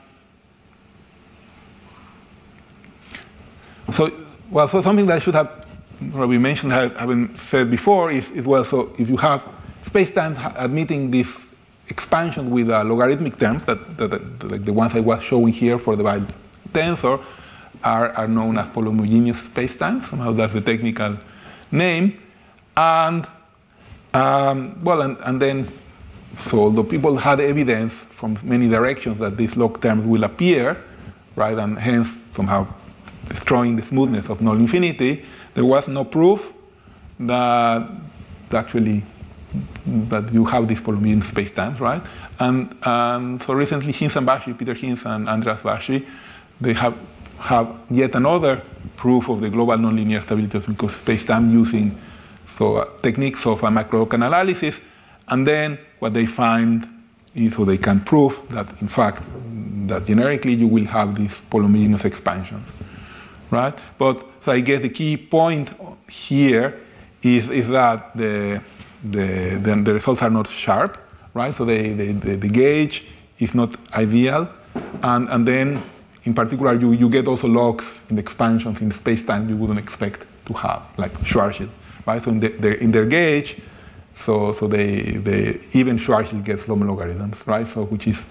So, well, so something that I should have probably mentioned, I haven't said before, is, is well, so if you have spacetimes admitting these expansions with uh, logarithmic terms, that, that, that like the ones I was showing here for the Weyl tensor, are, are known as polyhomogeneous spacetimes. Somehow that's the technical name. And, um, well, and, and then, so although people had evidence from many directions that these log terms will appear, right, and hence somehow destroying the smoothness of null infinity, there was no proof that actually that you have these polyhomogeneous spacetimes, right? And, and so recently, Hinz and Bashee, Peter Hinz and Andreas Bashee, they have have yet another proof of the global nonlinear stability of spacetime using so uh, techniques of uh, macro-local analysis, and then what they find is, so they can prove that in fact that generically you will have these polyhomogeneous expansions, right? But so I guess the key point here is, is that the, the, the, the results are not sharp, right? So they, they, the, the gauge is not ideal, and, and then in particular you, you get also logs in the expansions in space-time you wouldn't expect to have, like Schwarzschild, right? So in, the, their, in their gauge, so, so they, they even Schwarzschild gets low logarithms, right? So which is,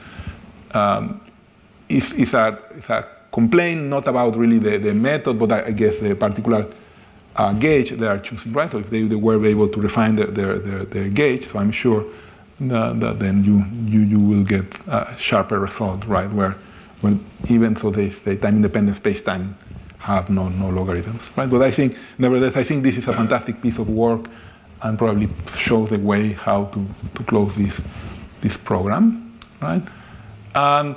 um, is, is, a, is a complaint not about really the, the method, but I, I guess the particular uh, gauge they are choosing, right? So if they, they were able to refine their, their, their, their gauge, so I'm sure that, that then you, you, you will get a sharper result, right? Where, when even so they say time-independent space-time have no, no logarithms, right? But I think, nevertheless, I think this is a fantastic piece of work and probably shows the way how to, to close this, this program, right? And,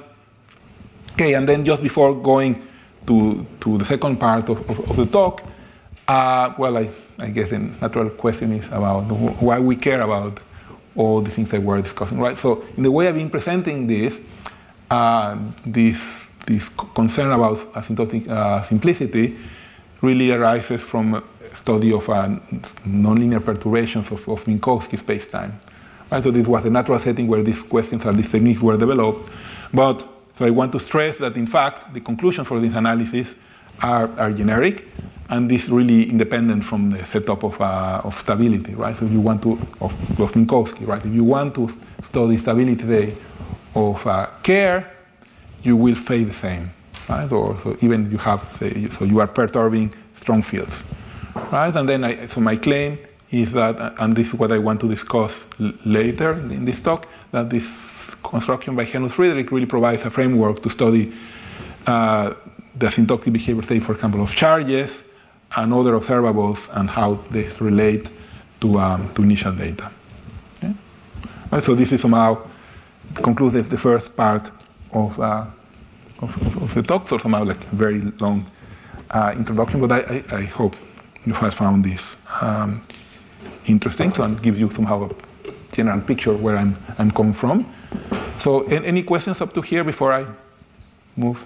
okay, and then just before going to, to the second part of, of, of the talk, uh, well, I, I guess the natural question is about why we care about all the things that we're discussing, right? So in the way I've been presenting this, uh, this, this concern about asymptotic uh, simplicity really arises from a study of uh, nonlinear perturbations of, of Minkowski space-time. Right? So this was the natural setting where these questions or these techniques were developed. But so I want to stress that in fact the conclusions for this analysis are, are generic, and this really independent from the setup of, uh, of stability, right? So if you want to, of, of Minkowski, right? If you want to study stability of uh, Kerr, you will face the same, right? Or so even you have, say, so you are perturbing strong fields, right? And then, I, so my claim is that, and this is what I want to discuss l- later in this talk, that this construction by Henry Friedrich really provides a framework to study uh, the asymptotic behavior, say, for example, of charges and other observables and how they relate to, um, to initial data. Okay? Right, so this is somehow concludes the first part of, uh, of, of the talk, so somehow like a very long uh, introduction, but I, I, I hope you have found this um, interesting, so it gives you somehow a general picture where I'm, I'm coming from. So any questions up to here before I move?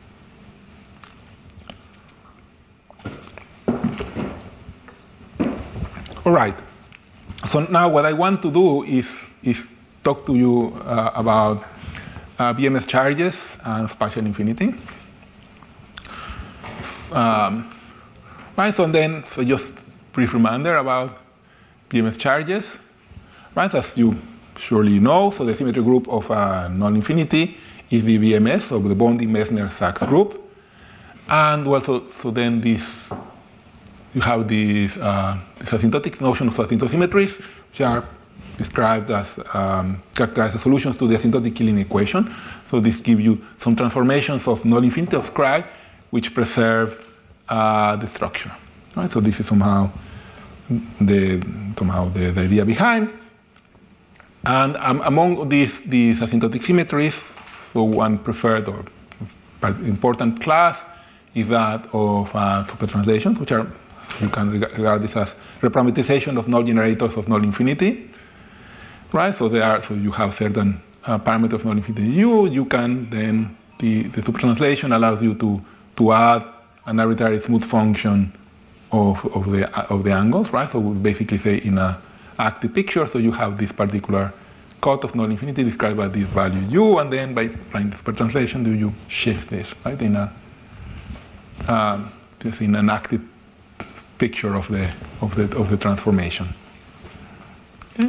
All right. So now what I want to do is, is talk to you uh, about uh, B M S charges and spatial infinity. Um, right, so then, so just brief reminder about B M S charges. Right, as you surely know, so the symmetry group of uh, null infinity is the B M S of the Bondi-Meissner-Sachs group. And also, so then this, you have this, uh, this asymptotic notion of asymptosymmetries, which are described as um, characterized as solutions to the asymptotic Killing equation. So this gives you some transformations of null infinity of Scri, which preserve uh, the structure. Right? So this is somehow the somehow the, the idea behind. And um, among these these asymptotic symmetries, so one preferred or important class is that of uh, supertranslations, which are, you can regard this as reparameterization of null generators of null infinity, right? So they are, so you have certain uh, parameters of null infinity U. You can then the the supertranslation allows you to to add an arbitrary smooth function of of the of the angles, right? So we basically say in a active picture, so you have this particular cut of null infinity described by this value U, and then by applying the supertranslation, do you shift this, right? In a um, just in an active picture of the of the of the transformation. Okay.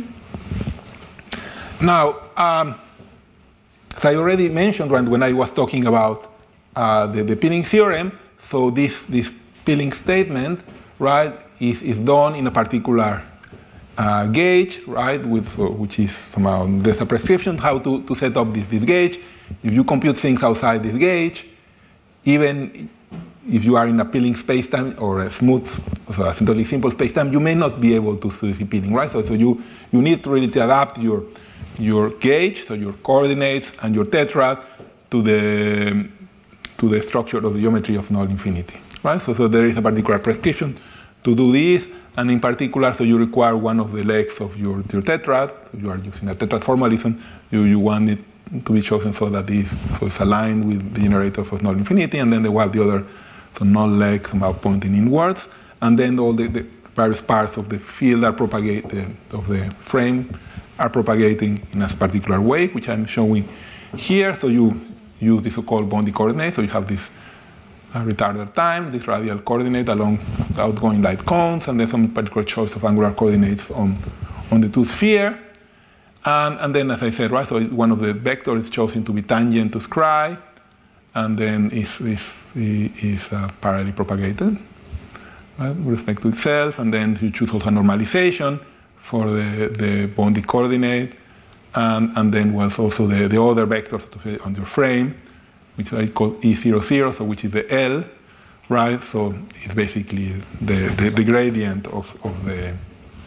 Now, um, as I already mentioned when, when I was talking about uh, the, the Peeling theorem, so this this Peeling statement, right, is is done in a particular uh, gauge, right, with uh, which is somehow there's a prescription how to, to set up this, this gauge. If you compute things outside this gauge, even if you are in a Peeling spacetime or a smooth, so a totally simple spacetime, you may not be able to see Peeling, right? So, so you, you need to really to adapt your your gauge, so your coordinates and your tetrad to the to the structure of the geometry of null infinity, right? So, so there is a particular prescription to do this. And in particular, so you require one of the legs of your, your tetrad. So you are using a tetrad formalism. You, you want it to be chosen so that this, so it's aligned with the generator of null infinity, and then they will have the other so null leg somehow pointing inwards. And then all the, the various parts of the field are propagated, of the frame are propagating in a particular way, which I'm showing here. So you use the so-called boundary coordinate. So you have this uh, retarder time, this radial coordinate along the outgoing light cones, and then some particular choice of angular coordinates on, on the two sphere. And, and then, as I said, right, so one of the vectors is chosen to be tangent to scry, and then is, is, is uh, parallelly propagated, right, with respect to itself. And then you choose also a normalization for the, the boundary coordinate, and, and then was also the, the other vectors on your frame, which I call E zero zero, so which is the L, right? So it's basically the, the, the gradient of, of the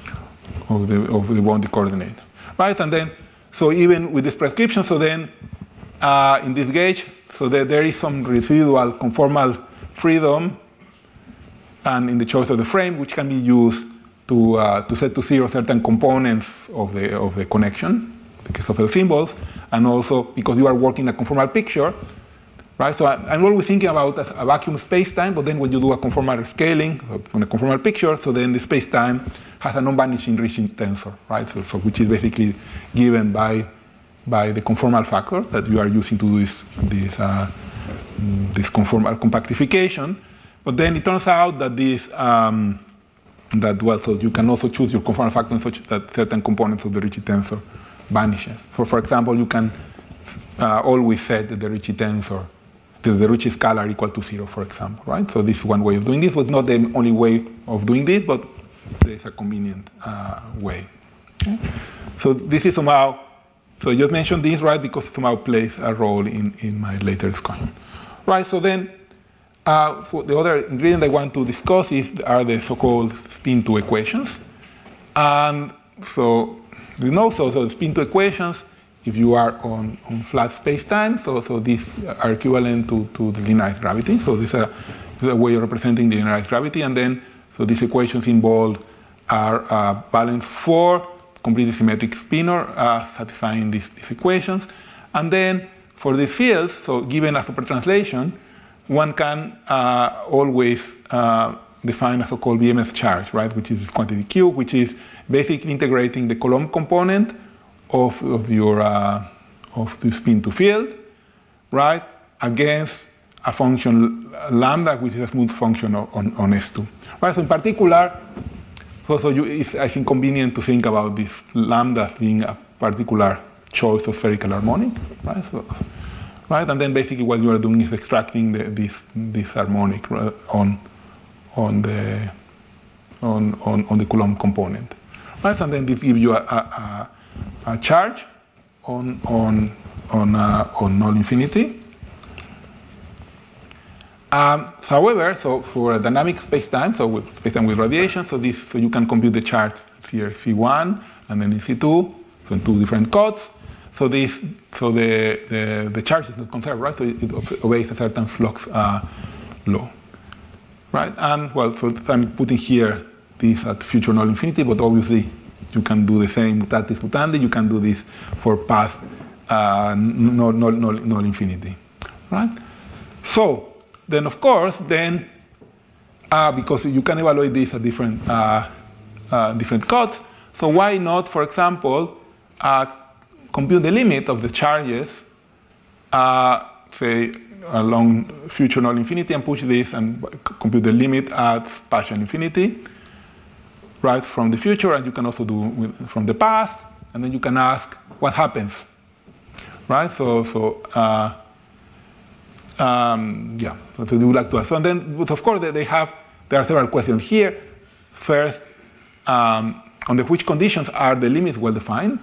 of the of the boundary coordinate, right? And then, so even with this prescription, so then uh, in this gauge, so there, there is some residual conformal freedom, and in the choice of the frame, which can be used to uh, to set to zero certain components of the of the connection, the case of L symbols, and also because you are working a conformal picture. Right, so I'm always thinking about a vacuum space-time, but then when you do a conformal scaling on a conformal picture, so then the space-time has a non-vanishing Ricci tensor, right? So, so which is basically given by by the conformal factor that you are using to do this this uh, this conformal compactification. But then it turns out that this um, that well, so you can also choose your conformal factor such that certain components of the Ricci tensor vanishes. For for example, you can uh, always set the Ricci tensor. The Ricci scalar equal to zero, for example, right? So this is one way of doing this, but not the only way of doing this, but there is a convenient uh, way. Okay? So this is somehow, so you mentioned this, right, because it somehow plays a role in, in my later discussion. Right, so then uh, so the other ingredient I want to discuss is are the so-called spin two equations. And so, you know, so, so spin two equations, if you are on, on flat space-time, so, so these are equivalent to, to the linearized gravity. So this is a, this is a way of representing the linearized gravity. And then, so these equations involved are uh, balanced four completely symmetric spinor uh, satisfying these, these equations. And then for these fields, so given a supertranslation, one can uh, always uh, define a so-called B M S charge, right, which is quantity Q, which is basically integrating the Coulomb component of, of your uh, of the spin to field, right, against a function lambda, which is a smooth function on, on S two. Right, so in particular, so, so you, it's, I think, convenient to think about this lambda being a particular choice of spherical harmonic, right? So, right, and then basically what you are doing is extracting the, this this harmonic on on the on, on on the Coulomb component, right? And then this gives you a, a, a charge on on on uh, on null infinity. Um, however, so for a dynamic space-time, so with space-time with radiation, so this so you can compute the charge here C one and then in C two, so in two different codes. So this so the the, the charge is not conserved, right? So it obeys a certain flux uh, law, right? And well, so I'm putting here this at future null infinity, but obviously you can do the same mutatis mutandi. You can do this for past uh, null, null, null, null infinity, right? So then, of course, then uh, because you can evaluate this at different uh, uh, different codes, so why not, for example, uh, compute the limit of the charges, uh, say along future null infinity, and push this and compute the limit at partial infinity, right, from the future, and you can also do with, from the past, and then you can ask what happens, right? So, so. Uh, Um, yeah, so they would like to ask. So and then, but of course, they have, there are several questions here. First, um, under which conditions are the limits well defined?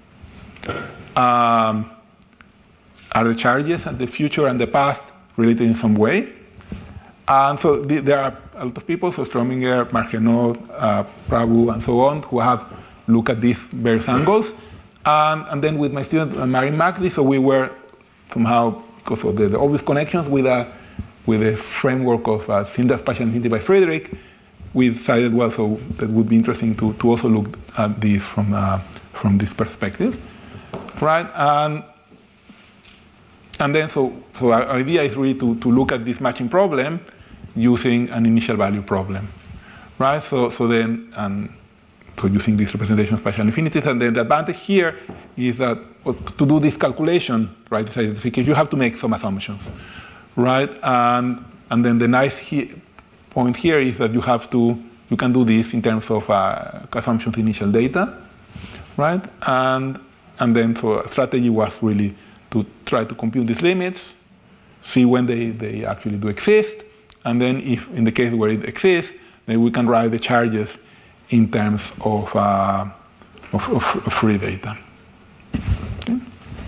Um, are the charges and the future and the past related in some way? And so the, there are a lot of people, so Strominger, Margenot, uh, Prabhu, and so on, who have looked at these various angles. And, and then with my student, uh, Marin Magdi, so we were somehow, because of the, the obvious connections with a with the framework of uh, Sindar spatial infinity by Friedrich, we decided, well, so that would be interesting to, to also look at this from, uh, from this perspective, right? And, and then, so, so our idea is really to, to look at this matching problem using an initial value problem, right? So, so then, and so using this representation of spatial infinities, and then the advantage here is that well, to do this calculation, right, this identification, you have to make some assumptions, right? And, and then the nice he, point here is that you have to, you can do this in terms of uh, assumptions initial data, right? And, and then so a strategy was really to try to compute these limits, see when they, they actually do exist, and then if in the case where it exists, then we can write the charges in terms of, uh, of, of, of free data. Okay.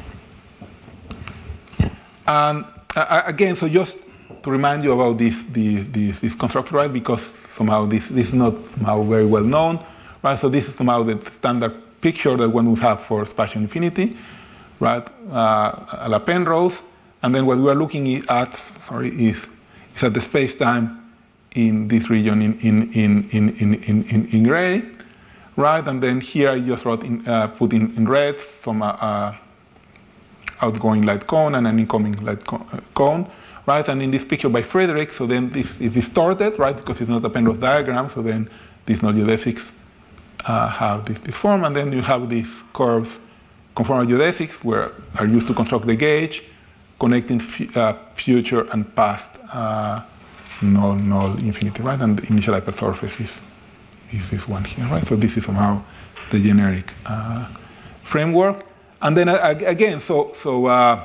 And uh, again, so just to remind you about this, this, this, this construct, right? Because somehow this, this is not somehow very well known, right? So this is somehow the standard picture that one would have for spatial infinity, right? Uh, a la Penrose, and then what we are looking at, sorry, is, is at the space-time in this region in in in in in in, in gray, right? And then here I just wrote in, uh, put in, in red some uh, uh, outgoing light cone and an incoming light cone, right? And in this picture by Frederick, so then this is distorted, right? Because it's not a Penrose diagram, so then these null geodesics uh, have this, this form, and then you have these curves, conformal geodesics, where are used to construct the gauge, connecting f uh, future and past uh, null, null infinity, right? And the initial hypersurface is, is this one here, right? So this is somehow the generic uh, framework. And then uh, again, so so uh,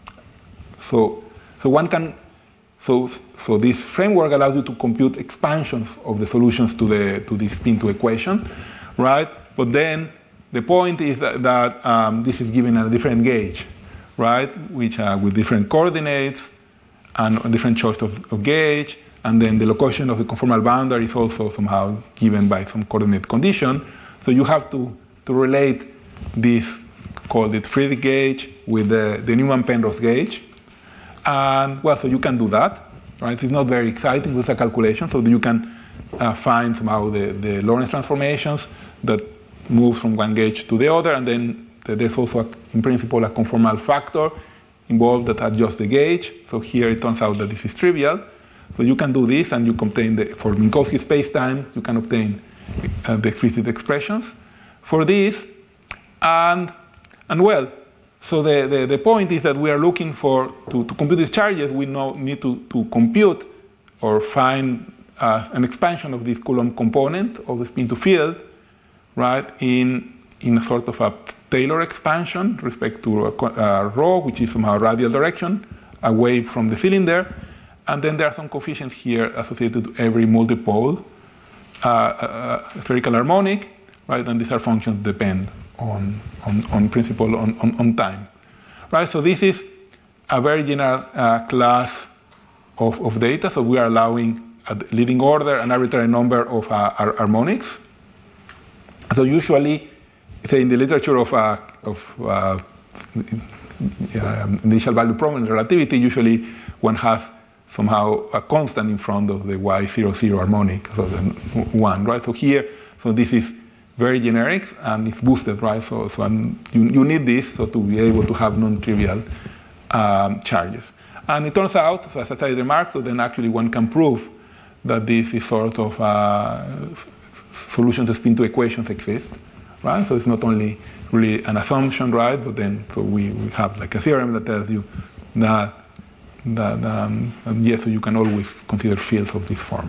so so one can so so this framework allows you to compute expansions of the solutions to the to this spin two equation, right? But then the point is that, that um, this is given a different gauge, right? Which uh, with different coordinates and a different choice of, of gauge. And then the location of the conformal boundary is also somehow given by some coordinate condition. So you have to, to relate this, called it Friedrich gauge, with the, the Newman-Penrose gauge. And well, so you can do that, right? It's not very exciting with a calculation, so you can uh, find somehow the, the Lorentz transformations that move from one gauge to the other, and then there's also, a, in principle, a conformal factor involved that adjusts the gauge. So here it turns out that this is trivial. So you can do this, and you obtain the, for Minkowski spacetime, you can obtain uh, the explicit expressions for this. And, and well, so the, the, the point is that we are looking for, to, to compute these charges, we know, need to, to compute or find uh, an expansion of this Coulomb component of the spin to field, right, in, in a sort of a Taylor expansion respect to uh, rho, which is somehow radial direction, away from the cylinder. And then there are some coefficients here associated to every multipole uh, uh, spherical harmonic, right? And these are functions that depend on, on, on principle on, on, on time, right? So this is a very general uh, class of, of data. So we are allowing a leading order an arbitrary number of uh, harmonics. So usually, say in the literature of, uh, of uh, initial value problem in relativity, usually one has somehow a constant in front of the y zero zero harmonic, so the one, right? So here, so this is very generic and it's boosted, right? So, so you, you need this so to be able to have non-trivial um, charges. And it turns out, so as I remarked, so then actually one can prove that this is sort of uh, solutions to spin two equations exist, right? So it's not only really an assumption, right? But then so we, we have like a theorem that tells you that that um, yes, so you can always consider fields of this form.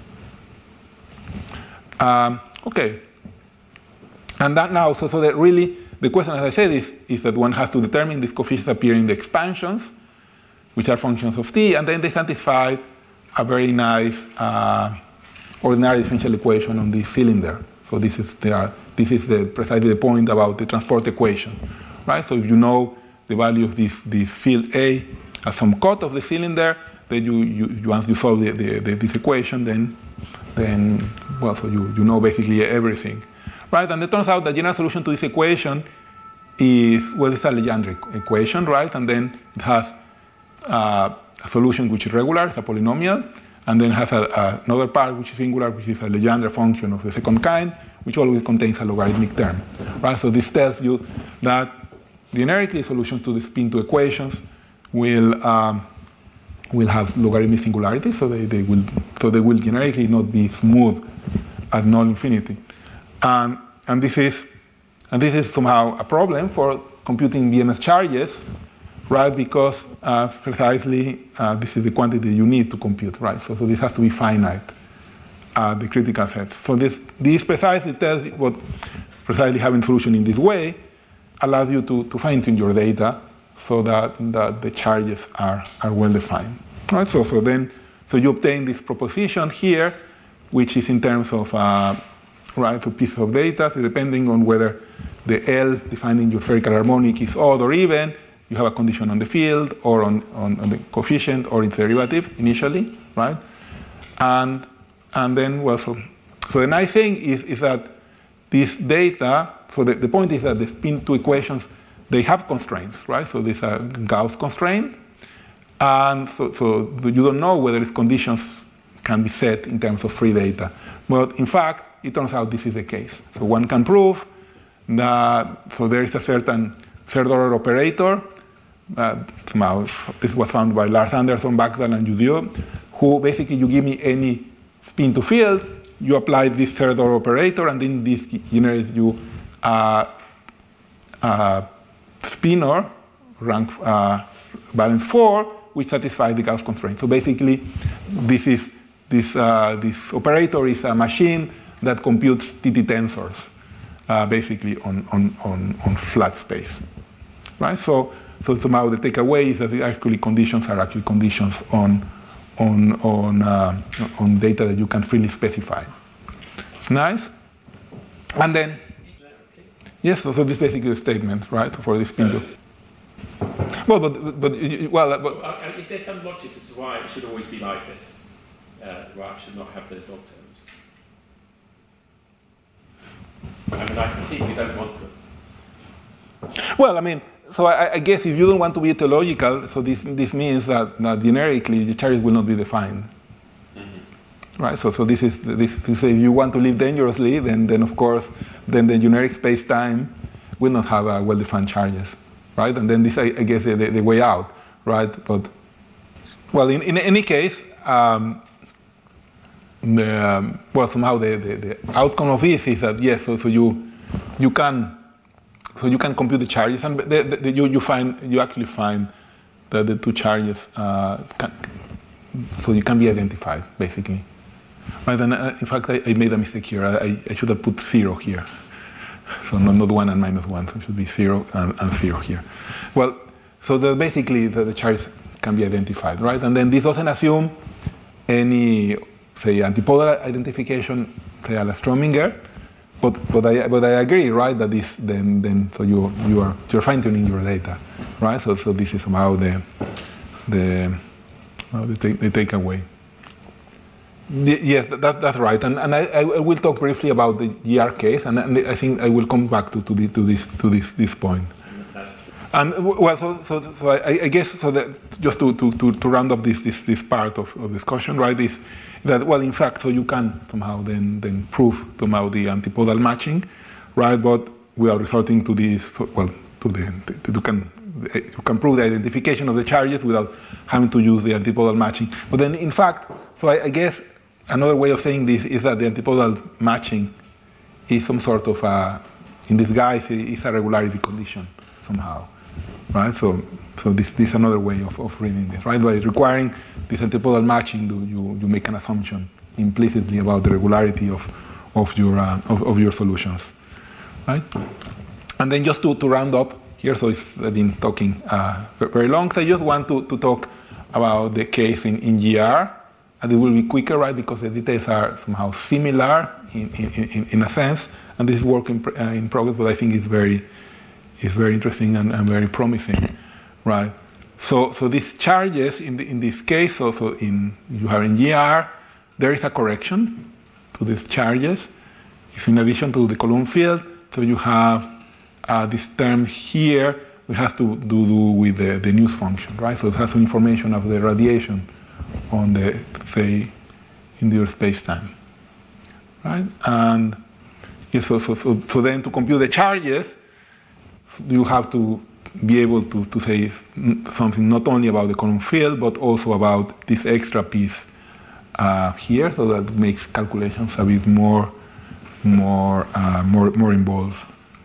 Um, okay, and that now, so so that really the question, as I said, is is that one has to determine these coefficients appear in the expansions, which are functions of t, and then they satisfy a very nice uh, ordinary differential equation on this cylinder. So this is the this is the, precisely the point about the transport equation, right? So if you know the value of this this field A as some cut of the cylinder, then you, you once you solve the, the, the, this equation, then then well, so you, you know basically everything, right? And it turns out the general solution to this equation is well, it's a Legendre equation, right? And then it has uh, a solution which is regular, it's a polynomial, and then has a, a, another part which is singular, which is a Legendre function of the second kind, which always contains a logarithmic term, right? So this tells you that generically solutions to the spin two equations will um, will have logarithmic singularity, so they, they will so they will generically not be smooth at null infinity, and and this is and this is somehow a problem for computing B M S charges, right? Because uh, precisely uh, this is the quantity you need to compute, right? So, so this has to be finite, uh, the critical set. So this this precisely tells what precisely having solution in this way allows you to, to fine-tune your data so that, that the charges are, are well defined. Right? So, so then so you obtain this proposition here, which is in terms of uh, right, so pieces of data, so depending on whether the L defining your spherical harmonic is odd or even, you have a condition on the field or on, on, on the coefficient or its derivative initially, right? And and then, well, so, so the nice thing is, is that this data, so the, the point is that the spin two equations, they have constraints, right? So these are Gauss constraint. And so, so you don't know whether these conditions can be set in terms of free data. But in fact, it turns out this is the case. So one can prove that, so there is a certain third order operator, uh, somehow, this was found by Lars Andersson, Bagdal, and Judieu, who basically you give me any spin to field, you apply this third order operator, and then this generates you a, a spinor, rank uh, valence four, which satisfies the Gauss constraint. So basically, this is this uh, this operator is a machine that computes T T tensors, uh, basically on, on on on flat space, right? So so somehow the takeaway is that the actually conditions are actually conditions on on on uh, on data that you can freely specify. It's nice, and then yes, so, so this is basically a statement, right, for this spin. So, well, but but well, but, well uh, is there some logic as to why it should always be like this? Uh, why it should not have those log terms? I mean, I can see if you don't want them. Well, I mean, so I, I guess if you don't want to be teleological, so this this means that, that generically the charges will not be defined, mm-hmm. right? So so this is this. So if you want to live dangerously, then then of course, then the generic space-time will not have uh, well-defined charges, right? And then this, I, I guess, the, the, the way out, right? But well, in, in any case, um, the, um, well, somehow the, the, the outcome of this is that yes, so, so you you can so you can compute the charges, and the, the, the, you you find you actually find that the two charges uh, can, so you can be identified basically. Right? And uh, in fact, I, I made a mistake here. I, I should have put zero here. So not, not one and minus one, so it should be zero and, and zero here. Well, so the, basically the, the charges can be identified, right? And then this doesn't assume any, say, antipodal identification, say, a la Strominger, but but I but I agree, right? That this then then so you you are you're fine tuning your data, right? So so this is somehow the the well, the, take, the takeaway. Yes, that, that's right, and and I, I will talk briefly about the G R case, and, and I think I will come back to, to, the, to this to this this point. And well, so so, so I, I guess so that just to, to, to, to round up this this, this part of, of discussion, right? Is that well, in fact, so you can somehow then then prove somehow the antipodal matching, right? But we are resorting to this well to the to, you can you can prove the identification of the charges without having to use the antipodal matching. But then, in fact, so I, I guess. Another way of saying this is that the antipodal matching is some sort of a, in disguise, is a regularity condition somehow, right? So, so this, this is another way of, of reading this, right? By requiring this antipodal matching, do you, you make an assumption implicitly about the regularity of, of, your, uh, of, of your solutions, right? And then just to, to round up here, so it's, I've been talking uh, very long, so I just want to, to talk about the case in, in G R. And it will be quicker, right, because the details are somehow similar in, in, in a sense, and this is work in, uh, in progress, but I think it's very, it's very interesting and, and very promising, right? So, so these charges in, the, in this case, also in you have in G R, there is a correction to these charges. It's in addition to the Coulomb field, so you have uh, this term here, which has to do with the, the news function, right? So it has some information of the radiation on the, say, in your space-time, right? And yeah, so, so, so, so then to compute the charges, you have to be able to, to say something not only about the Coulomb field, but also about this extra piece uh, here, so that makes calculations a bit more, more, uh, more, more involved,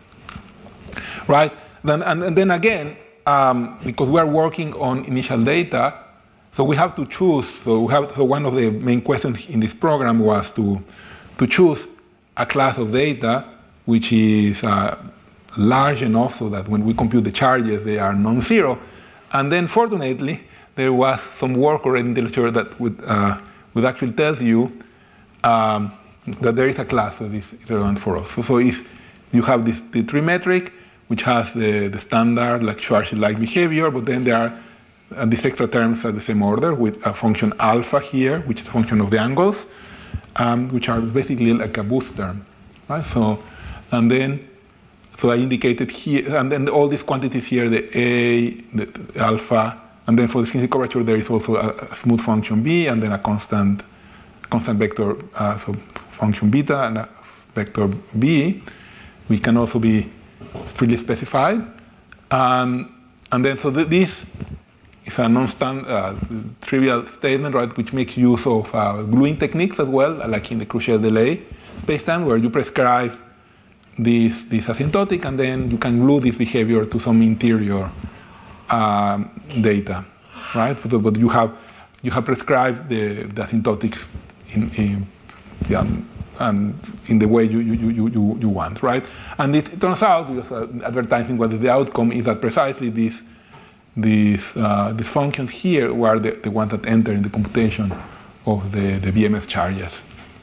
right? Then, and, and then again, um, because we are working on initial data, so we have to choose. So we have. So one of the main questions in this program was to, to choose a class of data which is uh, large enough so that when we compute the charges, they are non-zero. And then, fortunately, there was some work already in the literature that would, uh, would actually tell you um, that there is a class that is relevant for us. So, so if you have this the tree metric, which has the, the standard like Schwarzschild-like behavior, but then there are uh, these extra terms at the same order with a function alpha here, which is a function of the angles, um, which are basically like a boost term, right? So, and then, so I indicated here, and then all these quantities here, the A, the, the alpha, and then for the skin curvature, there is also a, a smooth function B, and then a constant, constant vector, uh, so function beta and a vector B, which can also be freely specified. Um, and then, so th this is a non-stand uh, trivial statement, right, which makes use of uh, gluing techniques as well, like in the Crucial delay spacetime, where you prescribe this, this asymptotic, and then you can glue this behavior to some interior um, data, right? But, but you have you have prescribed the, the asymptotics in, in yeah, and in the way you, you, you, you, you want, right? And it, it turns out, because uh, advertising what is the outcome, is that precisely these these uh, these functions here were the, the ones that enter in the computation of the, the B M S charges.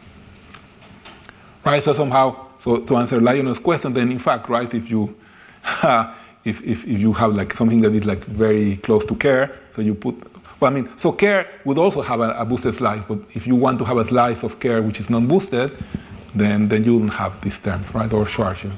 Right, so somehow, so to answer Lionel's question, then in fact, right, if you uh, if, if if you have like something that is like very close to Kerr, so you put, well, I mean, so Kerr would also have a, a boosted slice, but if you want to have a slice of Kerr which is non-boosted, then then you don't have these terms, right, or Schwarzschild.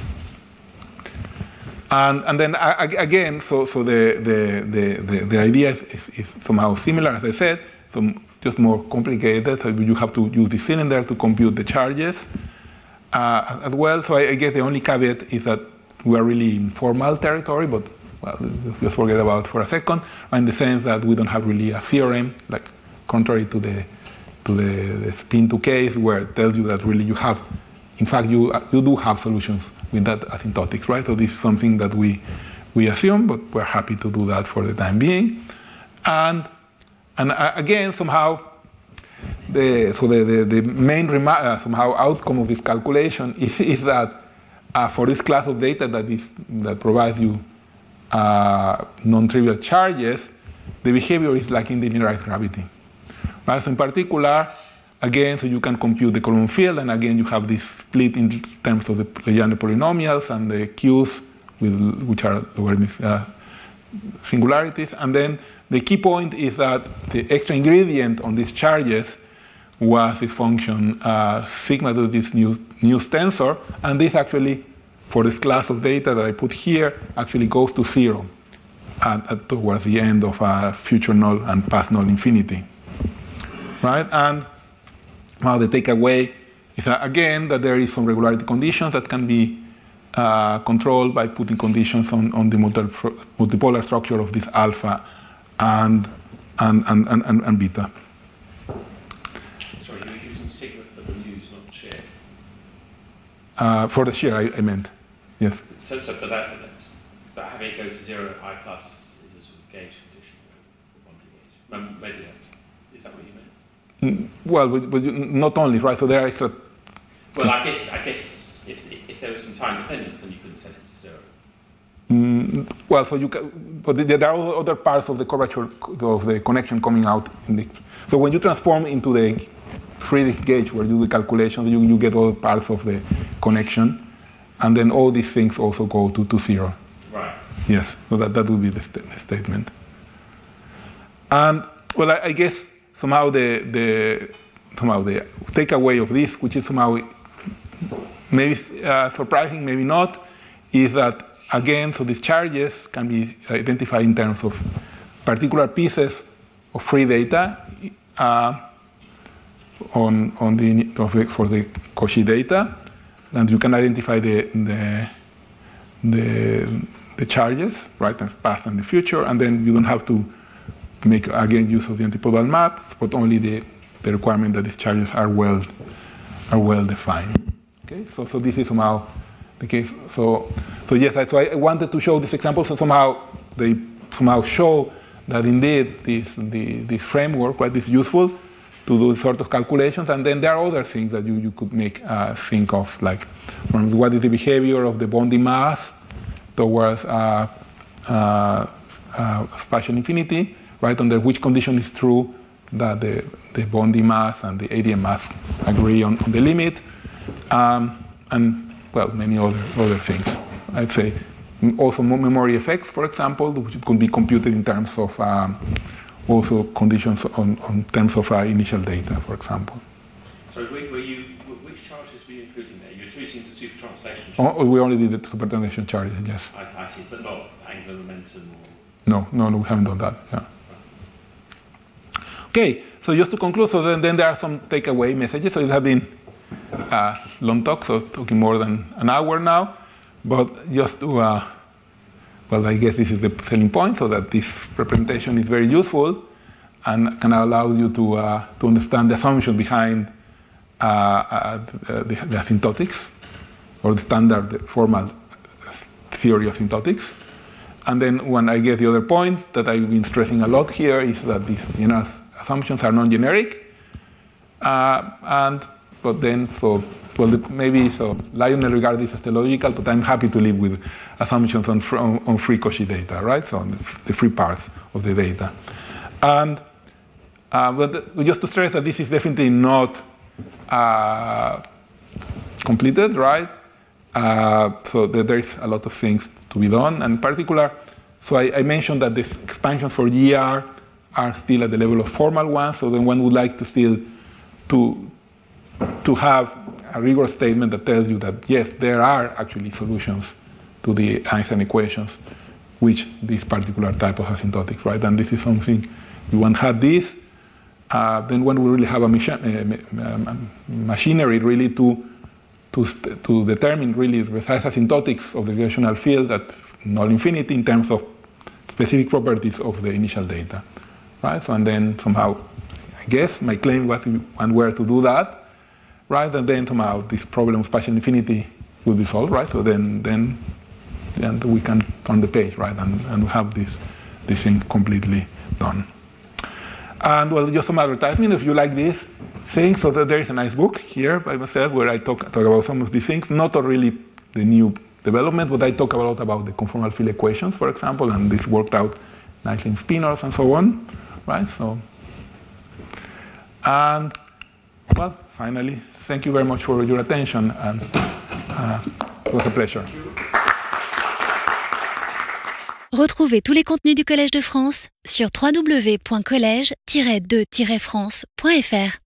And and then uh, again, so so the the the the, the idea is, is, is somehow similar, as I said, so just more complicated. So you have to use the cylinder to compute the charges uh, as well. So I, I guess the only caveat is that we are really in formal territory, but well, just forget about it for a second, in the sense that we don't have really a theorem, like contrary to the to the, the spin two case, where it tells you that really you have, in fact, you you do have solutions with that asymptotics, right? So this is something that we we assume, but we're happy to do that for the time being. And and uh, again, somehow, the so the the, the main rema- uh, somehow outcome of this calculation is is that uh, for this class of data that is that provides you uh, non-trivial charges, the behavior is like in the linearized gravity, right? So in particular, again, so you can compute the Coulomb field, and again, you have this split in terms of the Legendre polynomials and the Qs, with, which are logarithmic uh, singularities. And then the key point is that the extra ingredient on these charges was the function uh, sigma to this new, new tensor, and this actually, for this class of data that I put here, actually goes to zero at, at towards the end of a future null and past null infinity, right? And now the takeaway is that, again, that there is some regularity conditions that can be uh, controlled by putting conditions on, on the multi multipolar structure of this alpha and and and, and, and, and beta. Sorry, you're using sigma for the news, not share. Uh, for the share, I, I meant, yes. So, so but, that, but having it go to zero at I plus is a sort of gauge condition, one to gauge. Maybe that's, is that what you meant? Well, but, but not only, right? So there are extra. Well, I guess I guess if if there was some time dependence, then you couldn't set it to zero. Mm, well, so you can, but there are other parts of the curvature of the connection coming out. In the, so when you transform into the Friedrich gauge, where you do the calculation, you, you get all parts of the connection, and then all these things also go to, to zero. Right. Yes. So that that would be the, st the statement. And well, I, I guess. Somehow the, the somehow the takeaway of this, which is somehow maybe uh, surprising, maybe not, is that again, so these charges can be identified in terms of particular pieces of free data uh, on, on the, of the, for the Cauchy data, and you can identify the, the, the, the charges, right, the past and the future, and then you don't have to make, again, use of the antipodal maps, but only the, the requirement that these charges are well, are well defined. Okay, so, so this is somehow the case. So, so yes, so I wanted to show this example, so somehow they somehow show that indeed this, the, this framework, right, is useful to do sort of calculations, and then there are other things that you, you could make uh, think of, like from what is the behavior of the bonding mass towards uh, uh, uh, spatial infinity, right, under which condition is true that the, the bonding mass and the A D M mass agree on, on the limit, um, and, well, many other, other things. I'd say also memory effects, for example, which could be computed in terms of um, also conditions on, on terms of uh, initial data, for example. So were, were you, which charges were you including there? You're choosing the super translation Oh, charges? we only did the super translation charges, yes. I, I see, but not angular momentum or... No, no, no, we haven't done that, yeah. Okay, so just to conclude, so then, then there are some takeaway messages. So it has been a long talk, so talking more than an hour now, but just to, uh, well, I guess this is the selling point, so that this representation is very useful and can allow you to, uh, to understand the assumption behind uh, uh, the, the asymptotics, or the standard the formal theory of asymptotics. And then when I guess the other point that I've been stressing a lot here is that these general assumptions are non-generic, uh, and but then so well maybe so Lionel regards this as teleological, but I'm happy to live with assumptions on on, on free Cauchy data, right? So on the free parts of the data, and uh, but just to stress that this is definitely not uh, completed, right? Uh, so there is a lot of things to be done, and in particular, so I, I mentioned that the expansions for G R are still at the level of formal ones, so then one would like to still to, to have a rigorous statement that tells you that, yes, there are actually solutions to the Einstein equations, which this particular type of asymptotics, right? And this is something, if one had this, uh, then one will really have a machi- uh, machinery really to, to, to determine really precise asymptotics of the gravitational field at null infinity in terms of specific properties of the initial data. Right? So, and then somehow, I guess my claim was one were to do that, right? And then somehow this problem of spatial infinity will be solved, right? So then, then, then we can turn the page, right? And, and we have this, this thing completely done. And well, just some advertisement if you like this thing. So that there is a nice book here by myself where I talk, talk about some of these things, not really the new development, but I talk a lot about the conformal field equations, for example, and this worked out nicely in spinors and so on. Right, so, and, well, finally, thank you very much for your attention, and uh, it was a pleasure. Retrouvez tous les contenus du Collège de France sur w w w point collège tiret de tiret france point f r.